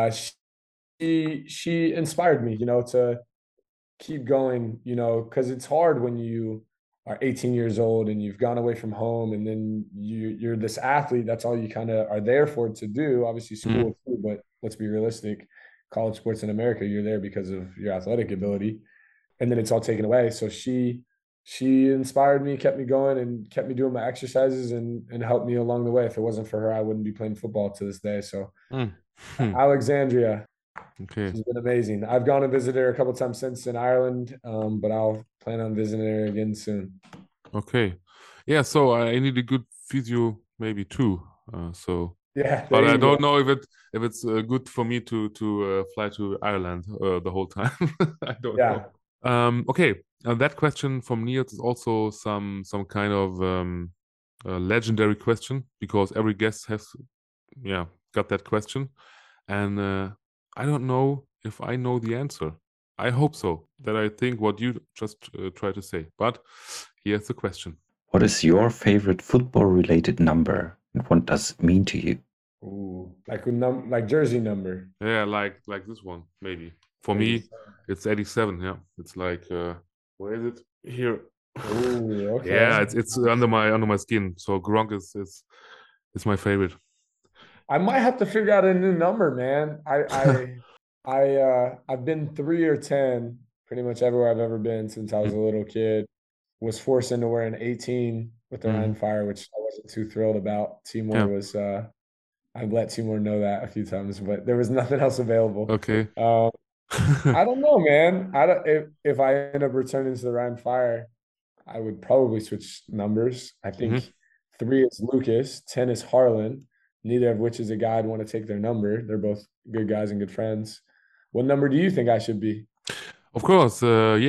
she inspired me, you know, to keep going, you know, because it's hard when you are 18 years old and you've gone away from home, and then you're this athlete. That's all you kind of are there for to do. Obviously school too, but let's be realistic. College sports in America, you're there because of your athletic ability, and then it's all taken away. So she inspired me, kept me going, and kept me doing my exercises and helped me along the way. If it wasn't for her, I wouldn't be playing football to this day. So Alexandria, okay, she's been amazing. I've gone and visited her a couple of times since in Ireland, but I'll plan on visiting her again soon. Okay, yeah. So I need a good physio maybe too. Yeah, but I don't know if it's good for me to fly to Ireland the whole time. I don't know. Okay, that question from Niels is also some kind of legendary question, because every guest has got that question, and I don't know if I know the answer. I hope so. That I think what you just tried to say. But here's the question. What is your favorite football-related number, and what does it mean to you? Ooh, like jersey number. Yeah, like this one, maybe. For me, it's 87. Yeah, it's like where is it? Here. Ooh, okay. Yeah, it's under my skin. So Gronk is my favorite. I might have to figure out a new number, man. I've been 3 or 10 pretty much everywhere I've ever been since I was a little kid. Was forced into wearing 18 with the Rhein Fire, which I wasn't too thrilled about. Timur was I've let Timur know that a few times, but there was nothing else available. Okay. I don't know, man. If I end up returning to the Rhein Fire, I would probably switch numbers. I think 3 is Lucas, 10 is Harlan, neither of which is a guy I'd want to take their number. They're both good guys and good friends. What number do you think I should be? Of course,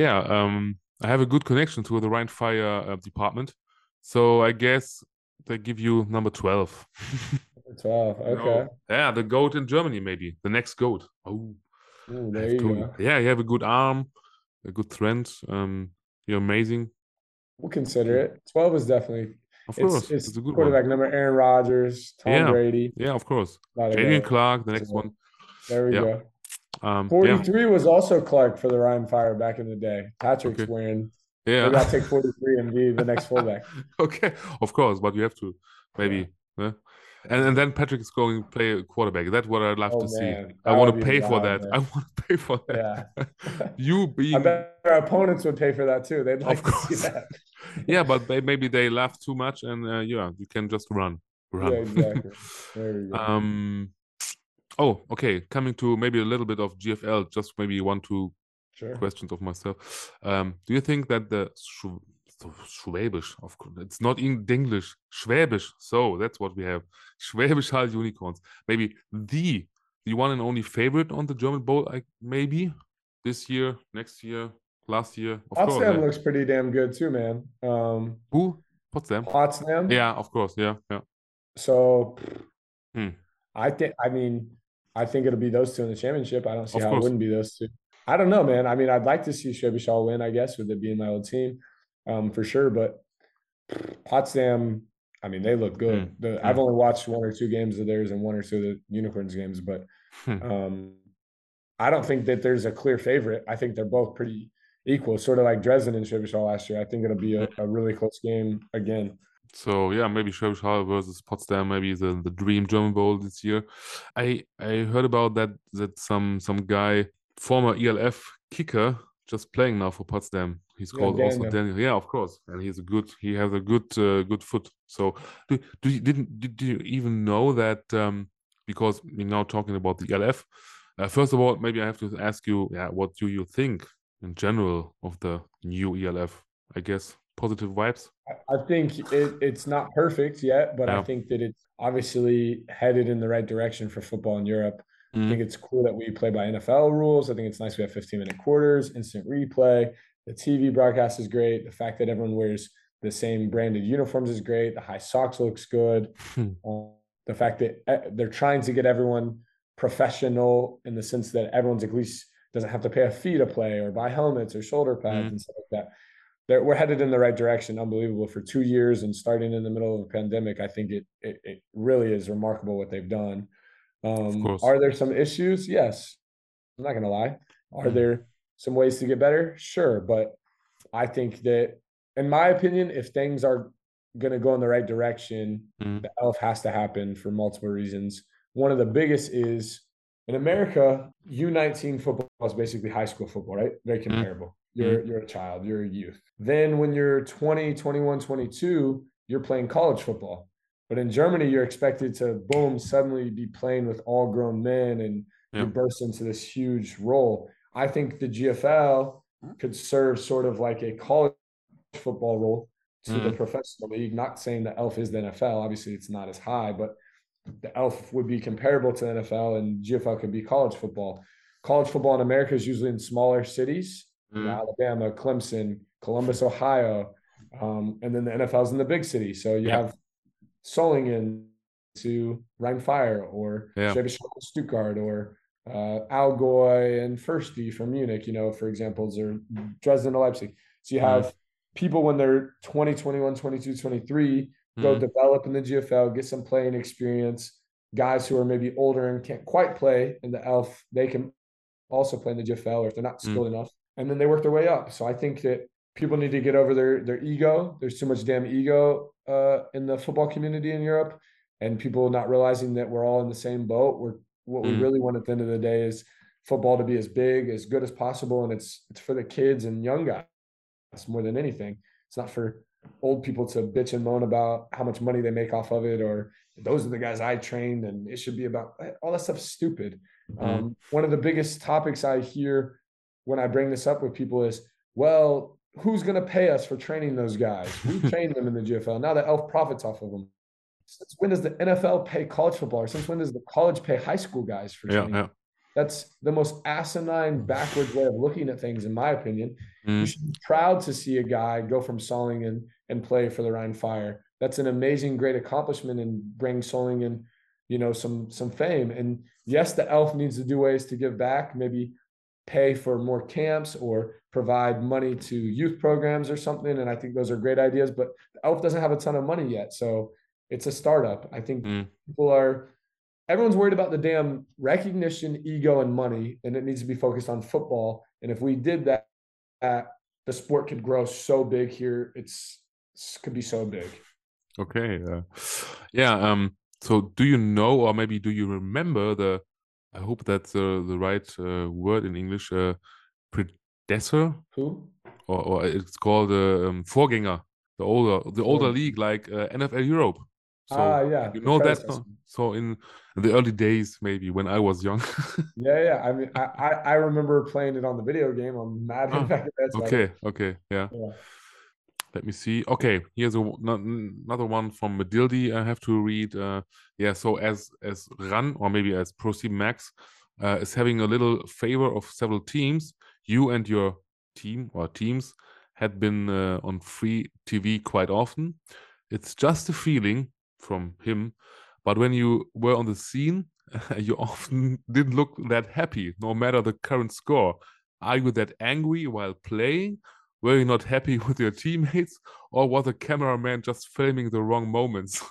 I have a good connection to the Rhein Fire department, so I guess they give you number 12. 12, okay. Yeah, the GOAT in Germany, maybe the next GOAT. Ooh, there you go. Yeah, you have a good arm, a good strength. You're amazing. We'll consider it. 12 is definitely. Of course, it's a good quarterback one. number. Aaron Rodgers, Tom Brady. Yeah, of course. Jadon Clark, the next one. There we go. 43 was also Clark for the Rhein Fire back in the day. Patrick's wearing. Yeah, maybe I'll take 43 and be the next fullback. Okay, of course, but you have to maybe. Yeah. And then Patrick is going to play a quarterback. That's what I'd love to see. I want to pay for that. I want to pay for that. Yeah. You being. I bet our opponents would pay for that too. They'd like to see that. Yeah, but maybe they laugh too much, and you can just run. Yeah, exactly. There we go. Oh, okay. Coming to maybe a little bit of GFL, just maybe 1-2 questions of myself. Do you think that the Schwäbisch, of course, it's not in English, Schwäbisch, so that's what we have. Schwäbisch Hall Unicorns. Maybe the one and only favorite on the German Bowl, maybe this year, next year, last year. Potsdam looks pretty damn good too, man. Who? Potsdam? Yeah, of course. Yeah. So I think it'll be those two in the championship. I don't see how it wouldn't be those two. I don't know, man. I mean, I'd like to see Schwäbisch Hall win, I guess, with it being my old team, for sure. But Potsdam, I mean, they look good. I've only watched 1 or 2 games of theirs and 1 or 2 of the Unicorns games, but I don't think that there's a clear favorite. I think they're both pretty equal, sort of like Dresden and Schwäbisch Hall last year. I think it'll be a really close game again. So yeah, maybe Schwäbisch Hall versus Potsdam, maybe the dream German Bowl this year. I heard about that some guy, former ELF kicker, just playing now for Potsdam. He's called Daniel. Also Daniel. Yeah, of course, and he has a good foot. So did you even know that? Because we're now talking about the ELF. First of all, maybe I have to ask you, what do you think in general of the new ELF? I guess positive vibes. I think it's not perfect yet, but I think that it's obviously headed in the right direction for football in Europe. I think it's cool that we play by NFL rules. I think it's nice we have 15-minute quarters, instant replay. The TV broadcast is great. The fact that everyone wears the same branded uniforms is great. The high socks looks good. The fact that they're trying to get everyone professional in the sense that everyone's at least doesn't have to pay a fee to play or buy helmets or shoulder pads and stuff like that. We're headed in the right direction. Unbelievable. For 2 years and starting in the middle of a pandemic, I think it really is remarkable what they've done. Are there some issues? Yes. I'm not going to lie. Are there some ways to get better? Sure. But I think that, in my opinion, if things are going to go in the right direction, the ELF has to happen for multiple reasons. One of the biggest is, in America, U19 football is basically high school football, right? Very comparable. You're a child, you're a youth. Then when you're 20, 21, 22, you're playing college football. But in Germany, you're expected to, boom, suddenly be playing with all grown men and you burst into this huge role. I think the GFL could serve sort of like a college football role to the professional league. Not saying the ELF is the NFL. Obviously, it's not as high, but the ELF would be comparable to the NFL, and GFL could be college football. College football in America is usually in smaller cities, Alabama, Clemson, Columbus, Ohio, and then the NFL is in the big city. So you have Solingen to Rhein Fire or Schwäbisch Hall, Stuttgart, or Allgäu and Fürsti from Munich, for examples, or Dresden to Leipzig. So you have people when they're 20, 21, 22, 23, go develop in the GFL, get some playing experience. Guys who are maybe older and can't quite play in the ELF, they can also play in the GFL, or if they're not skilled enough, and then they work their way up. So I think that people need to get over their ego. There's too much damn ego in the football community in Europe, and people not realizing that we're all in the same boat. What we really want at the end of the day is football to be as big, as good as possible, and it's for the kids and young guys more than anything. It's not for old people to bitch and moan about how much money they make off of it, or those are the guys I trained, and it should be about all that stuff's stupid. One of the biggest topics I hear when I bring this up with people is, well, who's going to pay us for training those guys? We train them in the GFL. Now the ELF profits off of them. Since when does the NFL pay college football? Or since when does the college pay high school guys for training? Yeah. That's the most asinine, backwards way of looking at things, in my opinion. You should be proud to see a guy go from Solingen and play for the Rhine Fire. That's an amazing, great accomplishment, and bring Solingen, some fame. And yes, the ELF needs to do ways to give back, maybe pay for more camps or provide money to youth programs or something. And I think those are great ideas, but the ELF doesn't have a ton of money yet. So it's a startup. I think everyone's worried about the damn recognition, ego, and money, and it needs to be focused on football. And if we did that, the sport could grow so big here. It could be so big. Okay. So do you know, or maybe do you remember I hope that's the right word in English, predecessor? Who? Or it's called Vorgänger, the older league, like NFL Europe. So yeah, you know that. So in the early days, maybe when I was young. Yeah. I mean, I remember playing it on the video game on Madden. Okay, yeah. Let me see. Okay, here's another one from Medildi I have to read. So as RAN, or maybe as ProSieben Max, is having a little favor of several teams, you and your team or teams had been on free TV quite often. It's just a feeling from him, but when you were on the scene, you often didn't look that happy, no matter the current score. Are you that angry while playing? Were you not happy with your teammates, or was the cameraman just filming the wrong moments?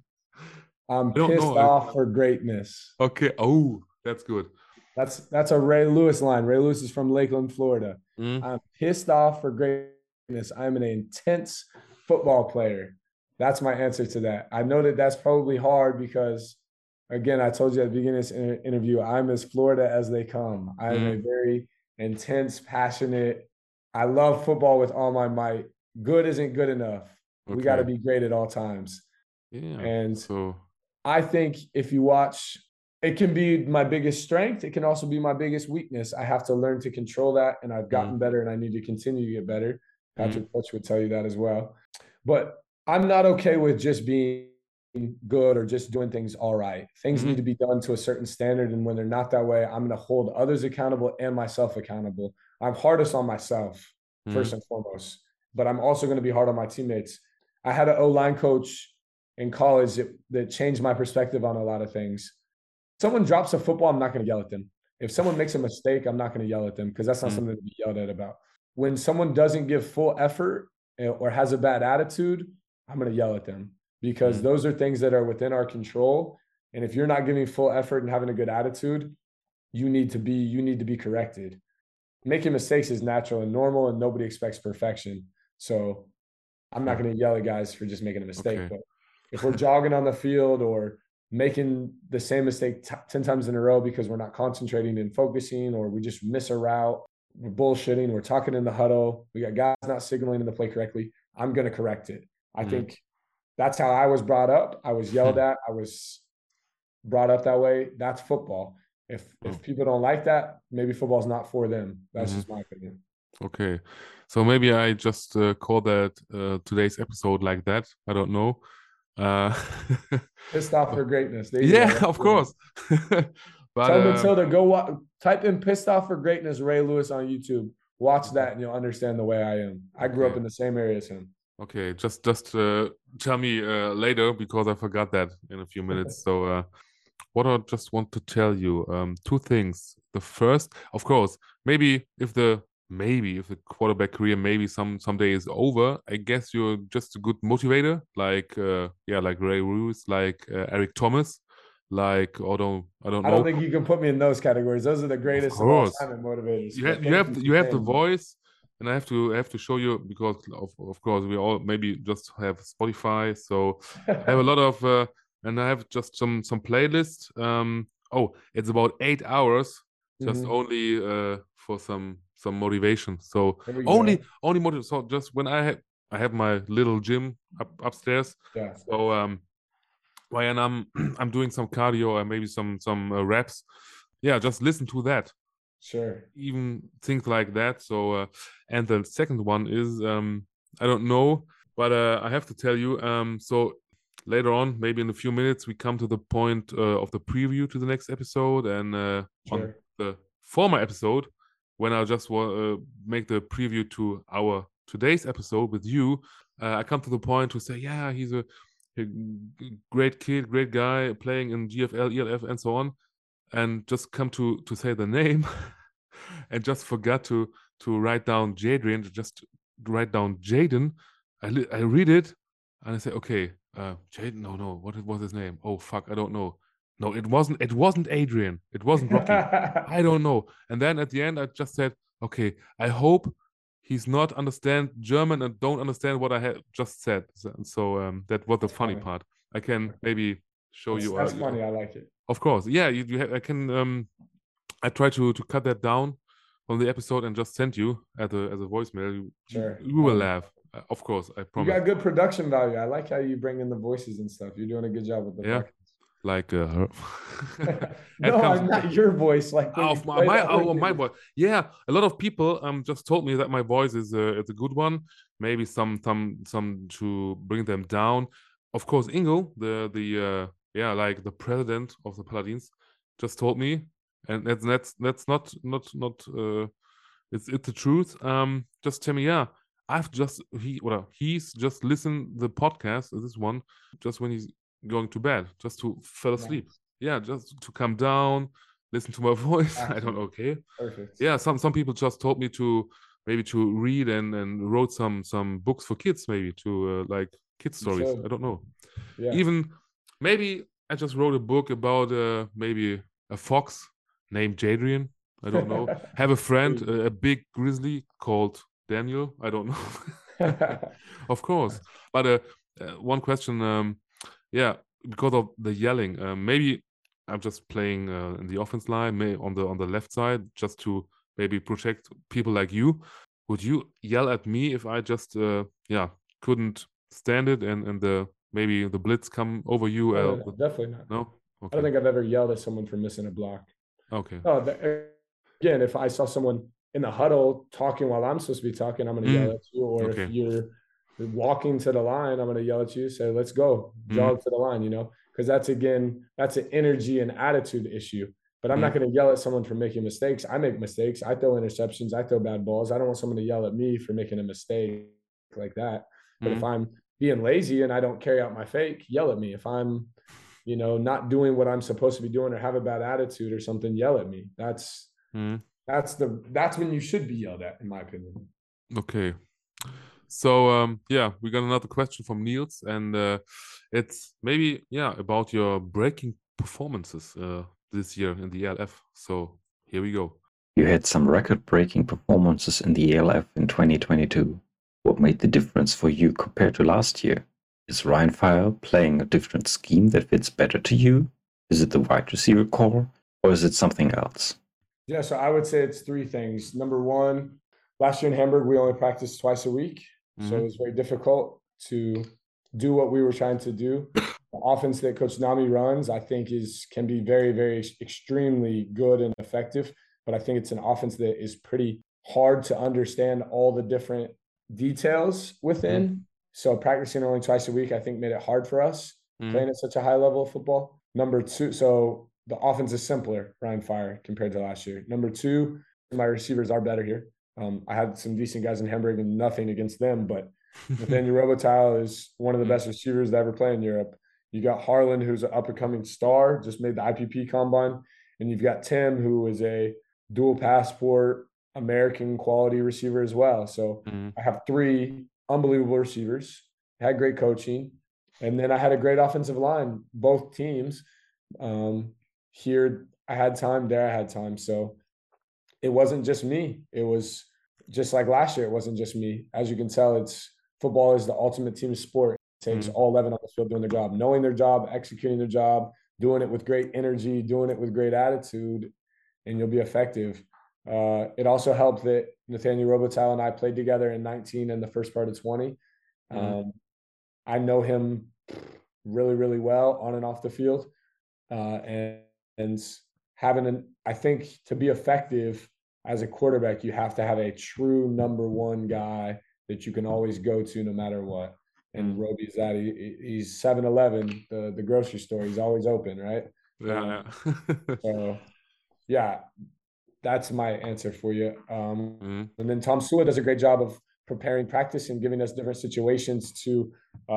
I'm pissed off for greatness. Okay. Oh, that's good. That's a Ray Lewis line. Ray Lewis is from Lakeland, Florida. I'm pissed off for greatness. I'm an intense football player. That's my answer to that. I know that that's probably hard because, again, I told you at the beginning of this interview, I'm as Florida as they come. I'm a very intense, passionate. I love football with all my might. Good isn't good enough. Okay. We got to be great at all times. Yeah. And so I think if you watch, it can be my biggest strength. It can also be my biggest weakness. I have to learn to control that, and I've gotten better, and I need to continue to get better. Patrick Coach would tell you that as well. But I'm not okay with just being good or just doing things all right. Things need to be done to a certain standard, and when they're not that way, I'm going to hold others accountable and myself accountable. I'm hardest on myself, first and foremost, but I'm also going to be hard on my teammates. I had an O-line coach in college that changed my perspective on a lot of things. Someone drops a football, I'm not going to yell at them. If someone makes a mistake, I'm not going to yell at them because that's not something to be yelled at about. When someone doesn't give full effort or has a bad attitude, I'm going to yell at them because those are things that are within our control. And if you're not giving full effort and having a good attitude, you need to be corrected. Making mistakes is natural and normal, and nobody expects perfection. So I'm not going to yell at guys for just making a mistake. Okay. But if we're jogging on the field or making the same mistake 10 times in a row because we're not concentrating and focusing, or we just miss a route, we're bullshitting, we're talking in the huddle, we got guys not signaling in the play correctly, I'm going to correct it. I think that's how I was brought up. I was yelled at. I was brought up that way. That's football. If people don't like that, maybe football's not for them. That's just my opinion. Okay. So maybe I just call that today's episode like that. I don't know. Pissed off for greatness. Of course. But, tell Matilda, go type in "Pissed Off for Greatness" Ray Lewis on YouTube. Watch that and you'll understand the way I am. I grew up in the same area as him. Okay, just tell me later because I forgot that in a few minutes. So what I just want to tell you, two things. The first, of course, maybe if the quarterback career maybe someday is over, I guess you're just a good motivator, like like Ray Lewis, like Eric Thomas, like I don't know. I don't think you can put me in those categories. Those are the greatest of all time motivators. You have the voice, and I have to show you, because of course we all maybe just have Spotify, so I have a lot of and I have just some playlists. It's about 8 hours just only for some motivation. So only motivation. So just when I have my little gym upstairs. Yeah. So when I'm doing some cardio or maybe some reps, just listen to that. Sure. Even things like that. So and the second one is I don't know, but I have to tell you. So later on, maybe in a few minutes, we come to the point of the preview to the next episode, and on the former episode, when I just make the preview to our today's episode with you, I come to the point to say, yeah, he's a great kid, great guy, playing in GFL, ELF, and so on, and just come to say the name, and just forgot to write down Jadrian, just write down Jaden. I read it, and I say, okay, Jaden, no, what was his name? Oh fuck, I don't know. No, it wasn't Adrian. It wasn't Rocky. I don't know. And then at the end, I just said, okay, I hope he's not understand German and don't understand what I had just said. So that was the funny part. I can maybe show you. That's funny. I like it. Of course, yeah. I can. I try to cut that down on the episode and just send you as a voicemail. You will laugh. Of course, I promise. You got good production value. I like how you bring in the voices and stuff. You're doing a good job with the podcast. Like no, I'm not your voice. Like my voice. Yeah, a lot of people just told me that my voice is a good one. Maybe some to bring them down. Of course, Ingo, the like the president of the Paladins, just told me, and that's not it's the truth. Just tell me, yeah. He's just listened the podcast, this one, just when he's going to bed, just to fall asleep. Yeah, just to come down, listen to my voice. I don't know. Okay. Perfect. Yeah, some people just told me to read and wrote some books for kids, maybe to like kid stories. I don't know. Yeah. Even maybe I just wrote a book about maybe a fox named Jadrian. I don't know. Have a friend, a big grizzly called Daniel. I don't know. Of course. But one question, because of the yelling, maybe I'm just playing in the offense line, on the left side, just to maybe protect people like you. Would you yell at me if I just couldn't stand it and maybe the blitz come over you? No, definitely not. No? Okay. I don't think I've ever yelled at someone for missing a block. Okay. Oh, again, if I saw someone in the huddle talking while I'm supposed to be talking, I'm going to yell at you. Or if you're walking to the line, I'm going to yell at you, say, let's go, jog to the line, because that's an energy and attitude issue. But I'm not going to yell at someone for making mistakes. I make mistakes. I throw interceptions. I throw bad balls. I don't want someone to yell at me for making a mistake like that. But if I'm being lazy and I don't carry out my fake, yell at me. If I'm, not doing what I'm supposed to be doing or have a bad attitude or something, yell at me. That's when you should be yelled at, in my opinion. Okay. So we got another question from Niels, and it's maybe about your breaking performances this year in the ELF. So here we go. You had some record-breaking performances in the ELF in 2022. What made the difference for you compared to last year? Is Rhein Fire playing a different scheme that fits better to you? Is it the wide receiver core, or is it something else? Yeah, so I would say it's three things. Number one, last year in Hamburg, we only practiced twice a week. So it was very difficult to do what we were trying to do. The offense that Coach Nami runs, I think, can be very, very extremely good and effective. But I think it's an offense that is pretty hard to understand all the different details within. So practicing only twice a week, I think, made it hard for us playing at such a high level of football. Number two, so the offense is simpler, Rhein Fire, compared to last year. Number two, my receivers are better here. I had some decent guys in Hamburg and nothing against them, but Nathaniel Robitaille is one of the best receivers to ever play in Europe. You got Harlan, who's an up-and-coming star, just made the IPP combine. And you've got Tim, who is a dual passport American quality receiver as well. So I have 3 unbelievable receivers, had great coaching. And then I had a great offensive line, both teams. Here I had time, there I had time. So it wasn't just me. It was just like last year, it wasn't just me. As you can tell, football is the ultimate team sport. It takes all 11 on the field doing their job, knowing their job, executing their job, doing it with great energy, doing it with great attitude, and you'll be effective. It also helped that Nathaniel Robitaille and I played together in 19 and the first part of 20. I know him really, really well on and off the field. And having I think to be effective as a quarterback, you have to have a true number 1 guy that you can always go to no matter what. And Roby's that. He's 7-Eleven, the grocery store. He's always open, right? Yeah. So, yeah, that's my answer for you. And then Tom Sula does a great job of preparing practice and giving us different situations to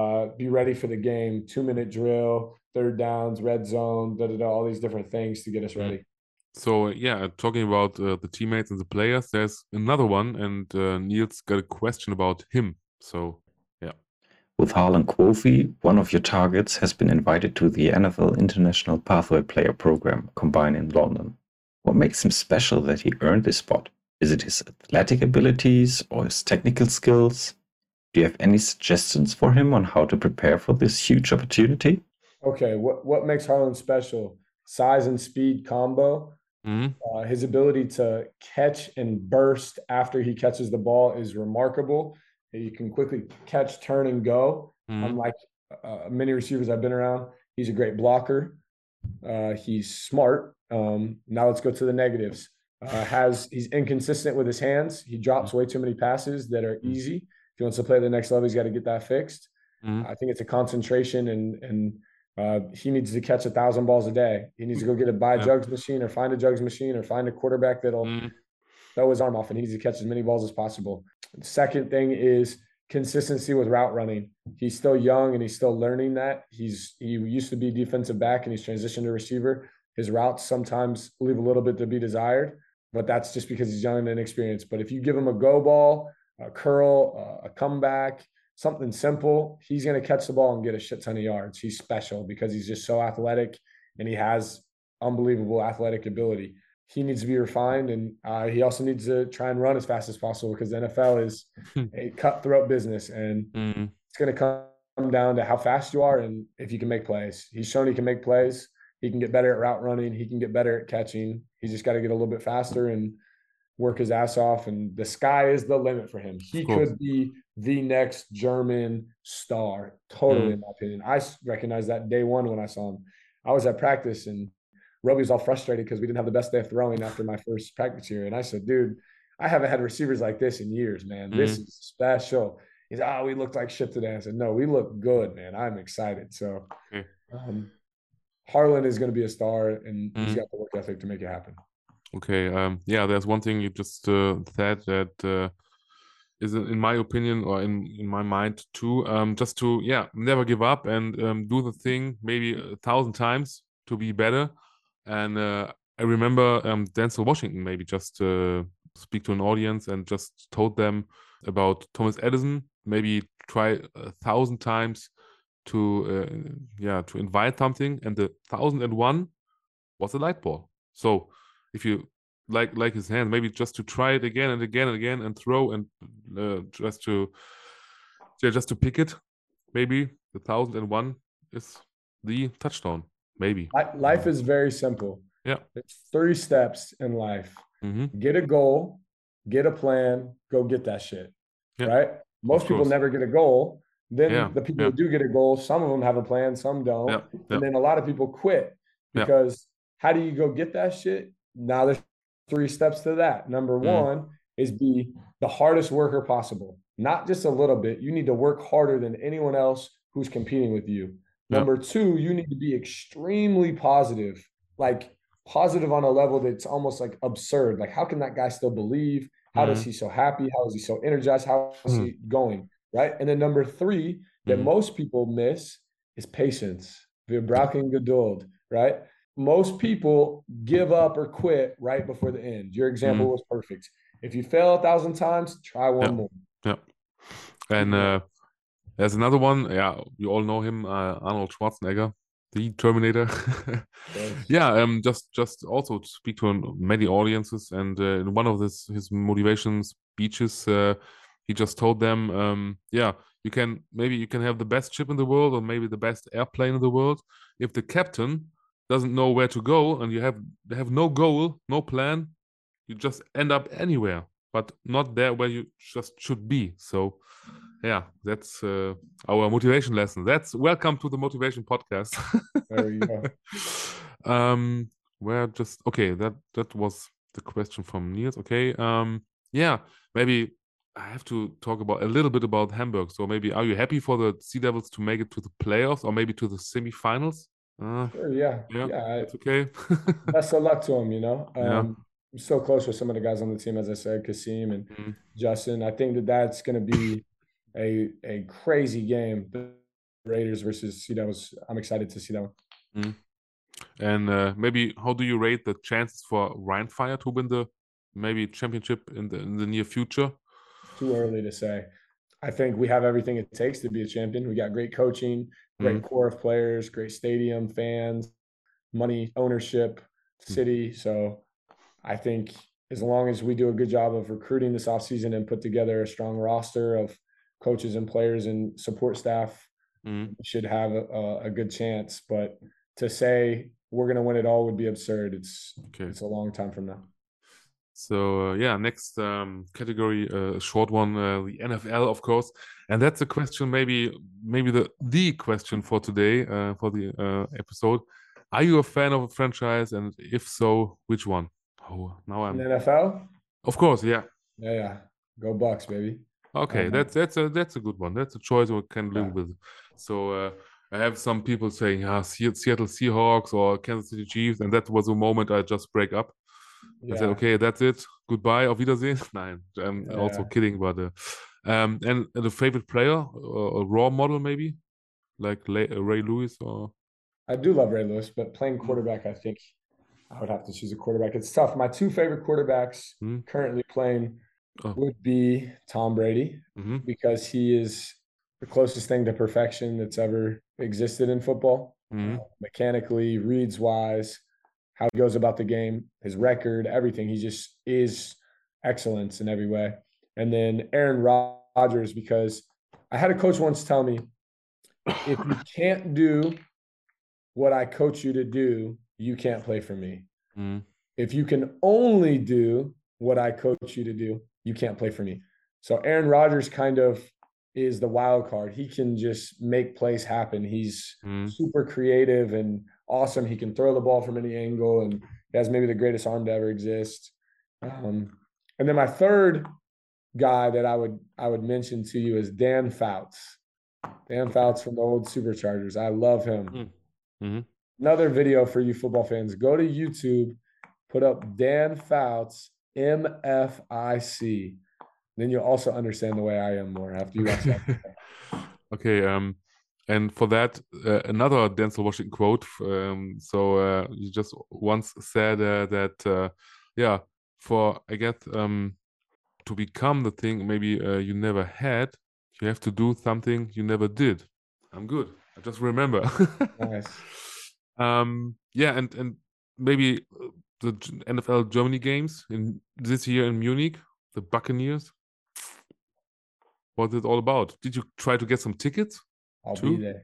be ready for the game. 2-minute drill, third downs, red zone, all these different things to get us ready. So, yeah, talking about the teammates and the players, there's another one, and Niels got a question about him. So, yeah. With Harlan Quofi, one of your targets has been invited to the NFL International Pathway Player Program combine in London. What makes him special that he earned this spot? Is it his athletic abilities or his technical skills? Do you have any suggestions for him on how to prepare for this huge opportunity? Okay, what makes Harlan special? Size and speed combo. His ability to catch and burst after he catches the ball is remarkable. You can quickly catch, turn, and go. Unlike many receivers I've been around, he's a great blocker. He's smart. Now let's go to the negatives. He's inconsistent with his hands. He drops way too many passes that are easy. If he wants to play at the next level, he's got to get that fixed. I think it's a concentration, and he needs to catch 1,000 balls a day. He needs to go get a jugs machine or find a jugs machine or find a quarterback that'll throw his arm off, and he needs to catch as many balls as possible. Second thing is consistency with route running. He's still young and he's still learning that. He used to be defensive back and he's transitioned to receiver. His routes sometimes leave a little bit to be desired, but that's just because he's young and inexperienced. But if you give him a go ball, a curl, a comeback, something simple, he's going to catch the ball and get a shit ton of yards. He's special because he's just so athletic and he has unbelievable athletic ability. He needs to be refined, and he also needs to try and run as fast as possible because the NFL is a cutthroat business, and it's going to come down to how fast you are and if you can make plays. He's shown he can make plays. He can get better at route running. He can get better at catching. He's just got to get a little bit faster and work his ass off, and the sky is the limit for him. He could be the next German star, totally, in my opinion. I recognized that day one when I saw him. I was at practice, and Roby was all frustrated because we didn't have the best day of throwing after my first practice year. And I said, dude, I haven't had receivers like this in years, man. This is special. He's, we looked like shit today. I said, no, we look good, man. I'm excited. So Harlan is going to be a star, and he's got the work ethic to make it happen. Okay. Yeah, there's one thing you just said that is, in my opinion, or in my mind too, just to, never give up and do the thing maybe 1,000 times to be better. And I remember Denzel Washington maybe just speak to an audience and just told them about Thomas Edison, maybe try 1,000 times to invite something, and the 1,001 was a light ball. So if you like his hand, maybe just to try it again and again and again and throw and just to pick it, maybe the 1,001 is the touchdown. Maybe. Life is very simple. Yeah. It's 3 steps in life. Get a goal, get a plan, go get that shit. Right? Most people never get a goal. Then the people who do get a goal, some of them have a plan, some don't. And then a lot of people quit because how do you go get that shit? Now there's 3 steps to that. Number 1 is be the hardest worker possible. Not just a little bit. You need to work harder than anyone else who's competing with you. Number 2, you need to be extremely positive, like positive on a level that's almost like absurd. Like, how can that guy still believe? How does he so happy? How is he so energized? How is he going? Right. And then number 3 that most people miss is patience. Wir brauchen Geduld, right? Most people give up or quit right before the end. Your example was perfect. If you fail 1,000 times, try one more. Yeah. And there's another one. Yeah, you all know him, Arnold Schwarzenegger, the Terminator. Yeah, just also to speak to many audiences, and in one of his motivation speeches, he just told them, yeah, you can have the best ship in the world or maybe the best airplane in the world. If the captain doesn't know where to go and you have no goal, no plan, you just end up anywhere, but not there where you just should be. So yeah, that's our motivation lesson. That's welcome to the motivation podcast. There we go. Where just okay, that was the question from Niels. Okay. Yeah, maybe I have to talk about a little bit about Hamburg. So maybe, are you happy for the Sea Devils to make it to the playoffs or maybe to the semifinals? Sure, yeah. It's okay. Best of luck to them, you know. Yeah. I'm so close with some of the guys on the team, as I said, Kasim and Justin. I think that's going to be a crazy game. The Raiders versus Sea Devils. I'm excited to see that one. And maybe how do you rate the chances for Rheinfire to win the maybe championship in the near future? Too early to say. I think we have everything it takes to be a champion. We got great coaching, great core of players, great stadium, fans, money, ownership, city. So I think as long as we do a good job of recruiting this offseason and put together a strong roster of coaches and players and support staff, we should have a good chance. But to say we're going to win it all would be absurd. It's a long time from now. So yeah, next category, a short one, the NFL, of course, and that's a question, maybe the question for today, for the episode. Are you a fan of a franchise, and if so, which one? Oh, now I'm in the NFL. Of course, yeah. Yeah. Go Bucks, baby. Okay, that's a good one. That's a choice we can live with. So I have some people saying, Seattle Seahawks or Kansas City Chiefs, and that was a moment I just break up. I said, okay, that's it. Goodbye, auf Wiedersehen. Nein, I'm also kidding, but and the favorite player, a raw model maybe, like Ray Lewis or. I do love Ray Lewis, but playing quarterback, I think I would have to choose a quarterback. It's tough. My two favorite quarterbacks currently playing would be Tom Brady, because he is the closest thing to perfection that's ever existed in football. Mechanically, reads wise, how he goes about the game, his record, everything. He just is excellence in every way. And then Aaron Rodgers, because I had a coach once tell me, if you can't do what I coach you to do, you can't play for me. If you can only do what I coach you to do, you can't play for me. So Aaron Rodgers kind of is the wild card. He can just make plays happen. He's super creative and awesome. He can throw the ball from any angle, and he has maybe the greatest arm to ever exist. And then my third guy that I would mention to you is Dan Fouts. Dan Fouts from the old Superchargers. I love him. Another video for you football fans. Go to YouTube, put up Dan Fouts, MFIC. Then you'll also understand the way I am more after you watch that. Okay. And for that, another Denzel Washington quote. So you just once said that, for, I guess, to become the thing maybe you never had, you have to do something you never did. I'm good. I just remember. Nice. Yeah, and maybe the NFL Germany games in this year in Munich, the Buccaneers. What's it all about? Did you try to get some tickets? I'll be there.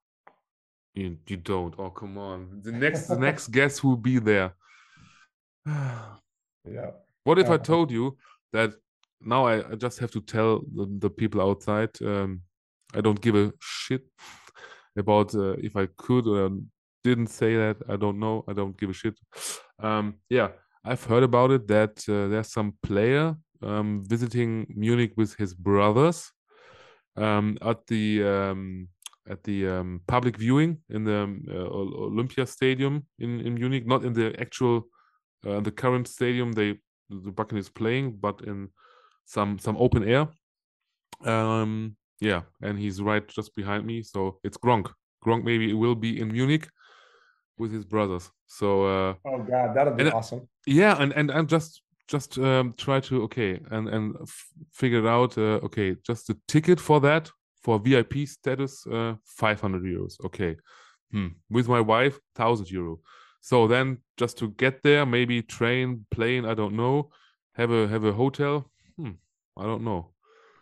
You don't. Oh, come on. The next guest who will be there. Yeah. What if I told you that now I just have to tell the people outside, I don't give a shit about if I could or didn't say that. I don't know. I don't give a shit. Yeah, I've heard about it that there's some player visiting Munich with his brothers at the public viewing in the Olympia Stadium in Munich, not in the actual the current stadium the Buccaneers playing, but in some open air. Yeah, and he's right just behind me, so it's Gronk. Gronk maybe will be in Munich with his brothers. So oh God, that'll be awesome. Yeah, and I'm just try to figure it out. Okay, just the ticket for that for VIP status, 500 euros. Okay, with my wife, 1,000 euro. So then just to get there, maybe train, plane, I don't know. Have a hotel. I don't know.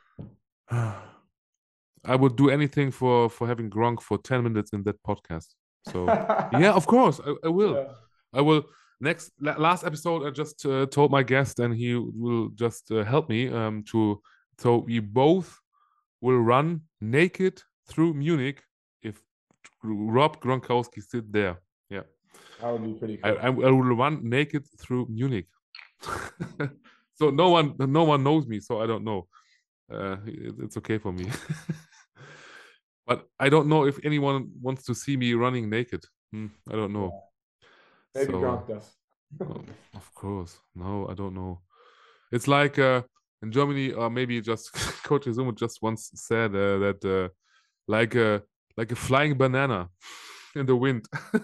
I would do anything for having Gronk for 10 minutes in that podcast. So yeah, of course, I will. Yeah. I will. Last episode, I just told my guest, and he will just help me so we both will run naked through Munich if Rob Gronkowski sit there. Yeah, that would be pretty cool. I will run naked through Munich. So no one knows me, so I don't know. It's okay for me. But I don't know if anyone wants to see me running naked. I don't know. Yeah. Maybe Gronk does. Of course. No, I don't know. It's like in Germany, or maybe just Coach Izumo just once said that like a flying banana in the wind.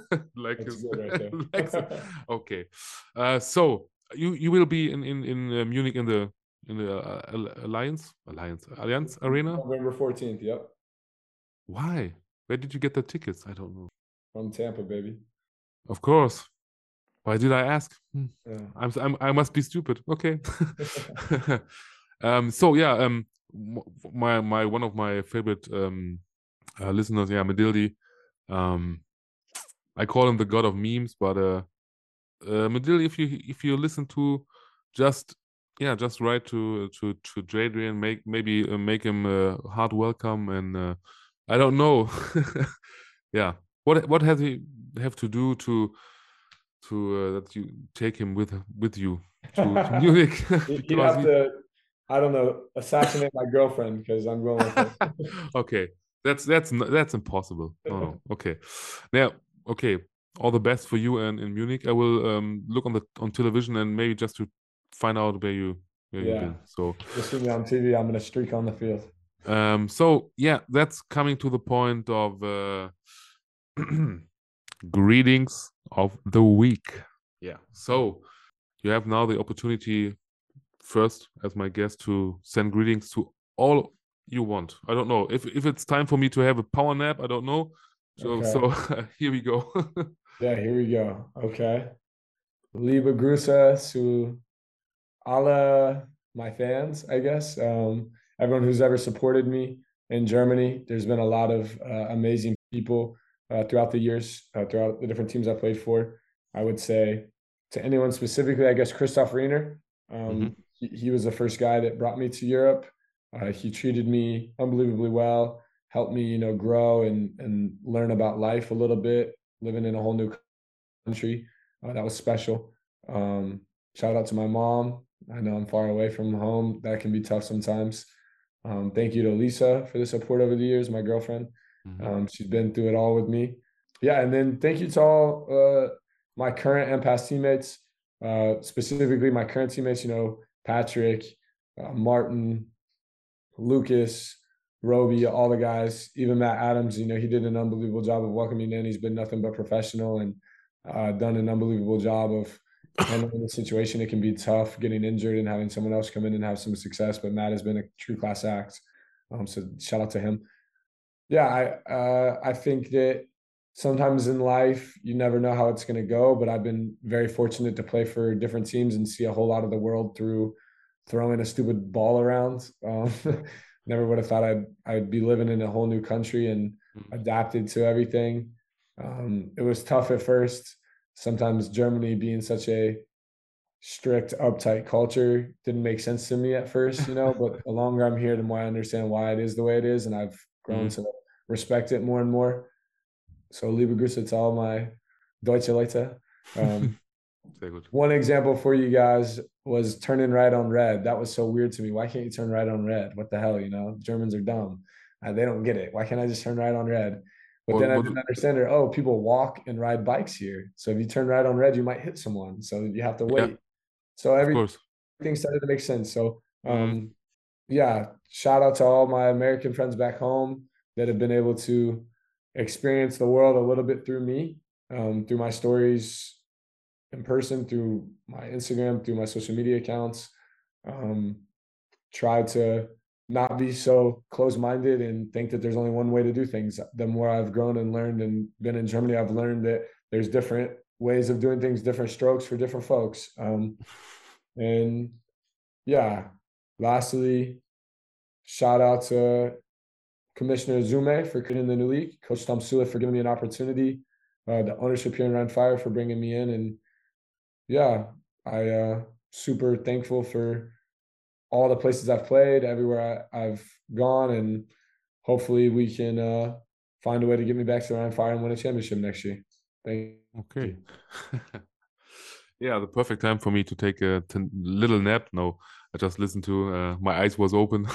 Okay. So you will be in Munich in the Allianz Arena? November 14th, yep. Why? Where did you get the tickets? I don't know. From Tampa, baby. Of course. Why did I ask? Yeah. I must be stupid. Okay. So yeah, my one of my favorite listeners, Medildi. I call him the god of memes, but Medildi, if you listen to just write to Jadrian, make him hard welcome, and I don't know. Yeah, what has he have to do to that you take him with you to Munich? You have to, I don't know, assassinate my girlfriend because I'm going with her. Okay, that's impossible. No. Okay, now okay. All the best for you and in Munich. I will look on television and maybe just to find out where you've been. So just see me on TV. I'm gonna streak on the field. So yeah, that's coming to the point of greetings of the week. Yeah. So you have now the opportunity first as my guest to send greetings to all you want. I don't know if it's time for me to have a power nap. I don't know. So here we go. Yeah, here we go. Okay. Liebe Grüße zu alle my fans, I guess. Everyone who's ever supported me in Germany. There's been a lot of amazing people throughout the years, throughout the different teams I played for. I would say to anyone specifically, I guess Christoph Reiner. He was the first guy that brought me to Europe. He treated me unbelievably well, helped me, grow and learn about life a little bit, living in a whole new country. That was special. Shout out to my mom. I know I'm far away from home. That can be tough sometimes. Thank you to Lisa for the support over the years, my girlfriend. She's been through it all with me. Yeah, and then thank you to all my current and past teammates, specifically my current teammates, Patrick, Martin, Lucas, Roby, all the guys, even Matt Adams, he did an unbelievable job of welcoming in. He's been nothing but professional and done an unbelievable job of handling the situation. It can be tough getting injured and having someone else come in and have some success, but Matt has been a true class act. So shout out to him. Yeah, I think that sometimes in life, you never know how it's going to go, but I've been very fortunate to play for different teams and see a whole lot of the world through throwing a stupid ball around. Never would have thought I'd be living in a whole new country and adapted to everything. It was tough at first. Sometimes Germany being such a strict, uptight culture didn't make sense to me at first, but the longer I'm here, the more I understand why it is the way it is. And I've grown to respect it more and more. So liebe Grüße to all my Deutsche Leute. One example for you guys was turning right on red. That was so weird to me. Why can't you turn right on red? What the hell, Germans are dumb. They don't get it. Why can't I just turn right on red? But then I didn't understand it. Oh, people walk and ride bikes here. So if you turn right on red, you might hit someone. So you have to wait. Yeah. So everything started to make sense. So yeah, shout out to all my American friends back home that have been able to experience the world a little bit through me, through my stories in person, through my Instagram, through my social media accounts. Try to not be so close-minded and think that there's only one way to do things. The more I've grown and learned and been in Germany, I've learned that there's different ways of doing things, different strokes for different folks. And yeah, lastly, shout out to Commissioner Zume for creating the new league, Coach Tom Sula for giving me an opportunity, the ownership here in Rhein Fire for bringing me in. And yeah, I super thankful for all the places I've played, everywhere I've gone, and hopefully we can find a way to get me back to Rhein Fire and win a championship next year. Thank Okay. you. Yeah, the perfect time for me to take a little nap. No, I just listened to, my eyes was open.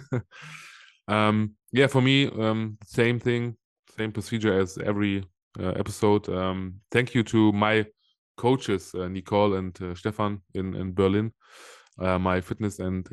Yeah, for me, same thing, same procedure as every episode. Thank you to my coaches, Nicole and Stefan in Berlin, my fitness and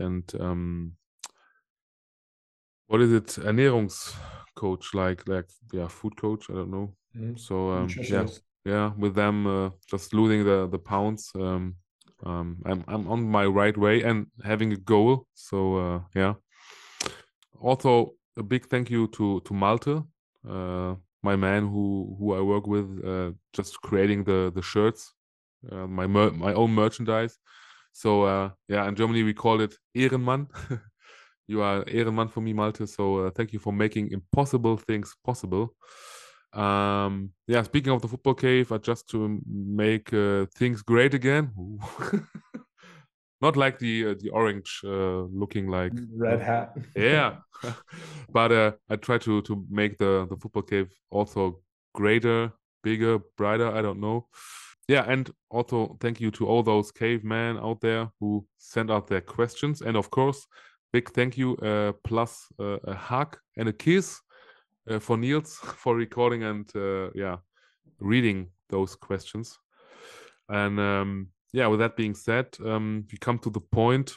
what is it, Ernährungscoach, like yeah, food coach, I don't know. So yeah, Nutritionist. yeah, with them just losing the pounds. I'm on my right way and having a goal. So yeah. Also a big thank you to Malte, my man who I work with, just creating the shirts, my own merchandise. So yeah, in Germany we call it Ehrenmann. You are Ehrenmann for me, Malte. So thank you for making impossible things possible. Yeah, speaking of the football cave, just to make things great again. Not like the orange looking like Red hat. yeah, but I try to make the football cave also greater, bigger, brighter. I don't know. Yeah, and also thank you to all those cavemen out there who sent out their questions, and of course, big thank you plus a hug and a kiss for Niels for recording and yeah, reading those questions. And yeah, with that being said, we come to the point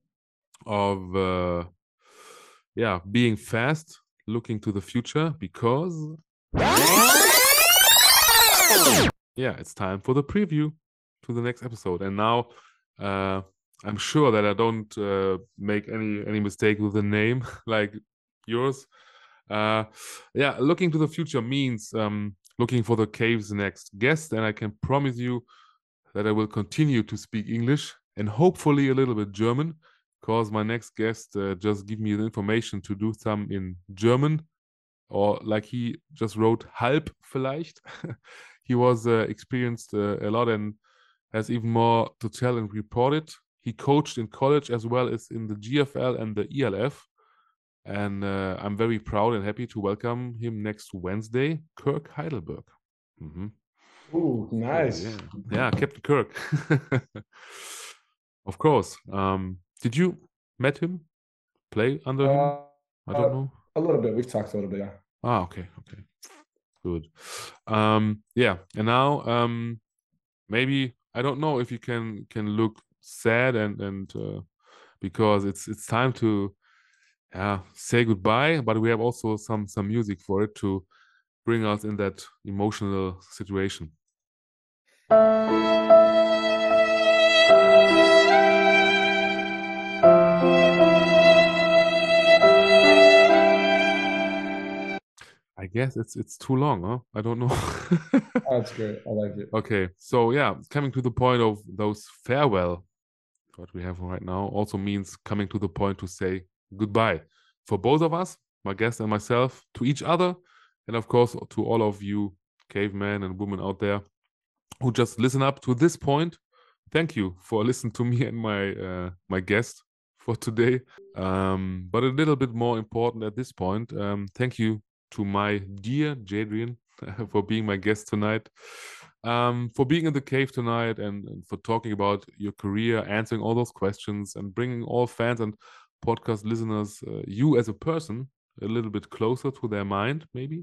of yeah, being fast, looking to the future, because yeah, it's time for the preview to the next episode. And now I'm sure that I don't make any mistake with the name like yours. Yeah, looking to the future means looking for the cave's next guest, and I can promise you that I will continue to speak English and hopefully a little bit German, because my next guest just gave me the information to do some in German, or like he just wrote halb vielleicht. He was experienced a lot and has even more to tell and report it. He coached in college as well as in the GFL and the ELF. And I'm very proud and happy to welcome him next Wednesday, Kirk Heidelberg. Ooh, nice. Yeah, Captain Kirk. Of course. Did you met him? Play under him? I don't know. A little bit. We've talked a little bit, yeah. Okay. Good. Yeah, and now maybe I don't know if you can look sad and because it's time to say goodbye, but we have also some music for it to bring us in that emotional situation. I guess it's too long, huh? I don't know. Oh, that's great. I like it. Okay, so yeah, coming to the point of those farewell, what we have right now, also means coming to the point to say goodbye for both of us, my guest and myself, to each other, and of course to all of you cavemen and women out there who just listen up to this point. Thank you for listening to me and my guest for today. But a little bit more important at this point, thank you to my dear Jadrian for being my guest tonight, for being in the cave tonight, and for talking about your career, answering all those questions, and bringing all fans and podcast listeners, you as a person, a little bit closer to their mind, maybe.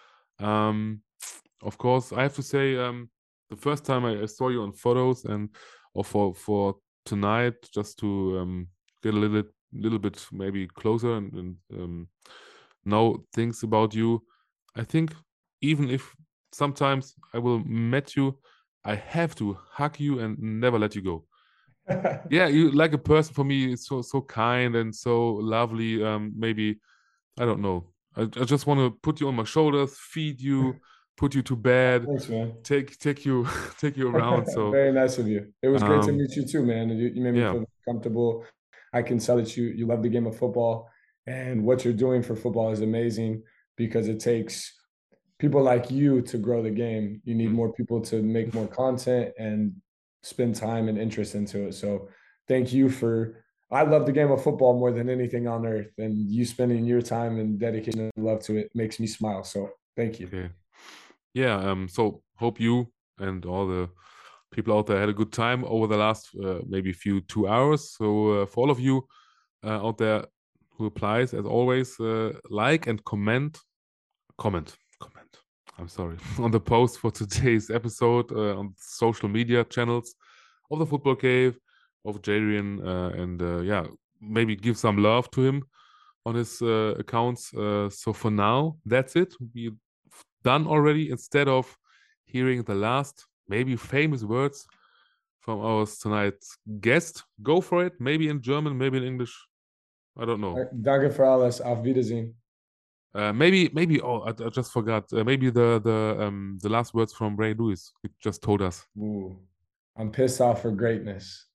Of course, I have to say, the first time I saw you on photos and or for tonight, just to get a little bit maybe closer and know things about you, I think even if sometimes I will meet you, I have to hug you and never let you go. Yeah, you like a person for me. It's so kind and so lovely. Maybe I don't know. I just want to put you on my shoulders, feed you, put you to bed. Thanks, man. Take you around. So very nice of you. It was great to meet you too, man. You made me feel comfortable. I can tell that you love the game of football, and what you're doing for football is amazing because it takes people like you to grow the game. You need more people to make more content and spend time and interest into it. So thank you for, I love the game of football more than anything on earth, and you spending your time and dedication and love to it makes me smile. So thank you. Okay. Yeah. So hope you and all the people out there had a good time over the last maybe 2 hours. So for all of you out there who applies, as always, like and comment. I'm sorry, on the post for today's episode on social media channels of the Football Cave, of Jadrian, and yeah, maybe give some love to him on his accounts. So for now, that's it. We're done already. Instead of hearing the last, maybe famous words from our tonight's guest, go for it. Maybe in German, maybe in English. I don't know. Danke für alles. Auf Wiedersehen. Maybe. Oh, I just forgot. Maybe the last words from Ray Lewis. He just told us. Ooh, I'm pissed off for greatness.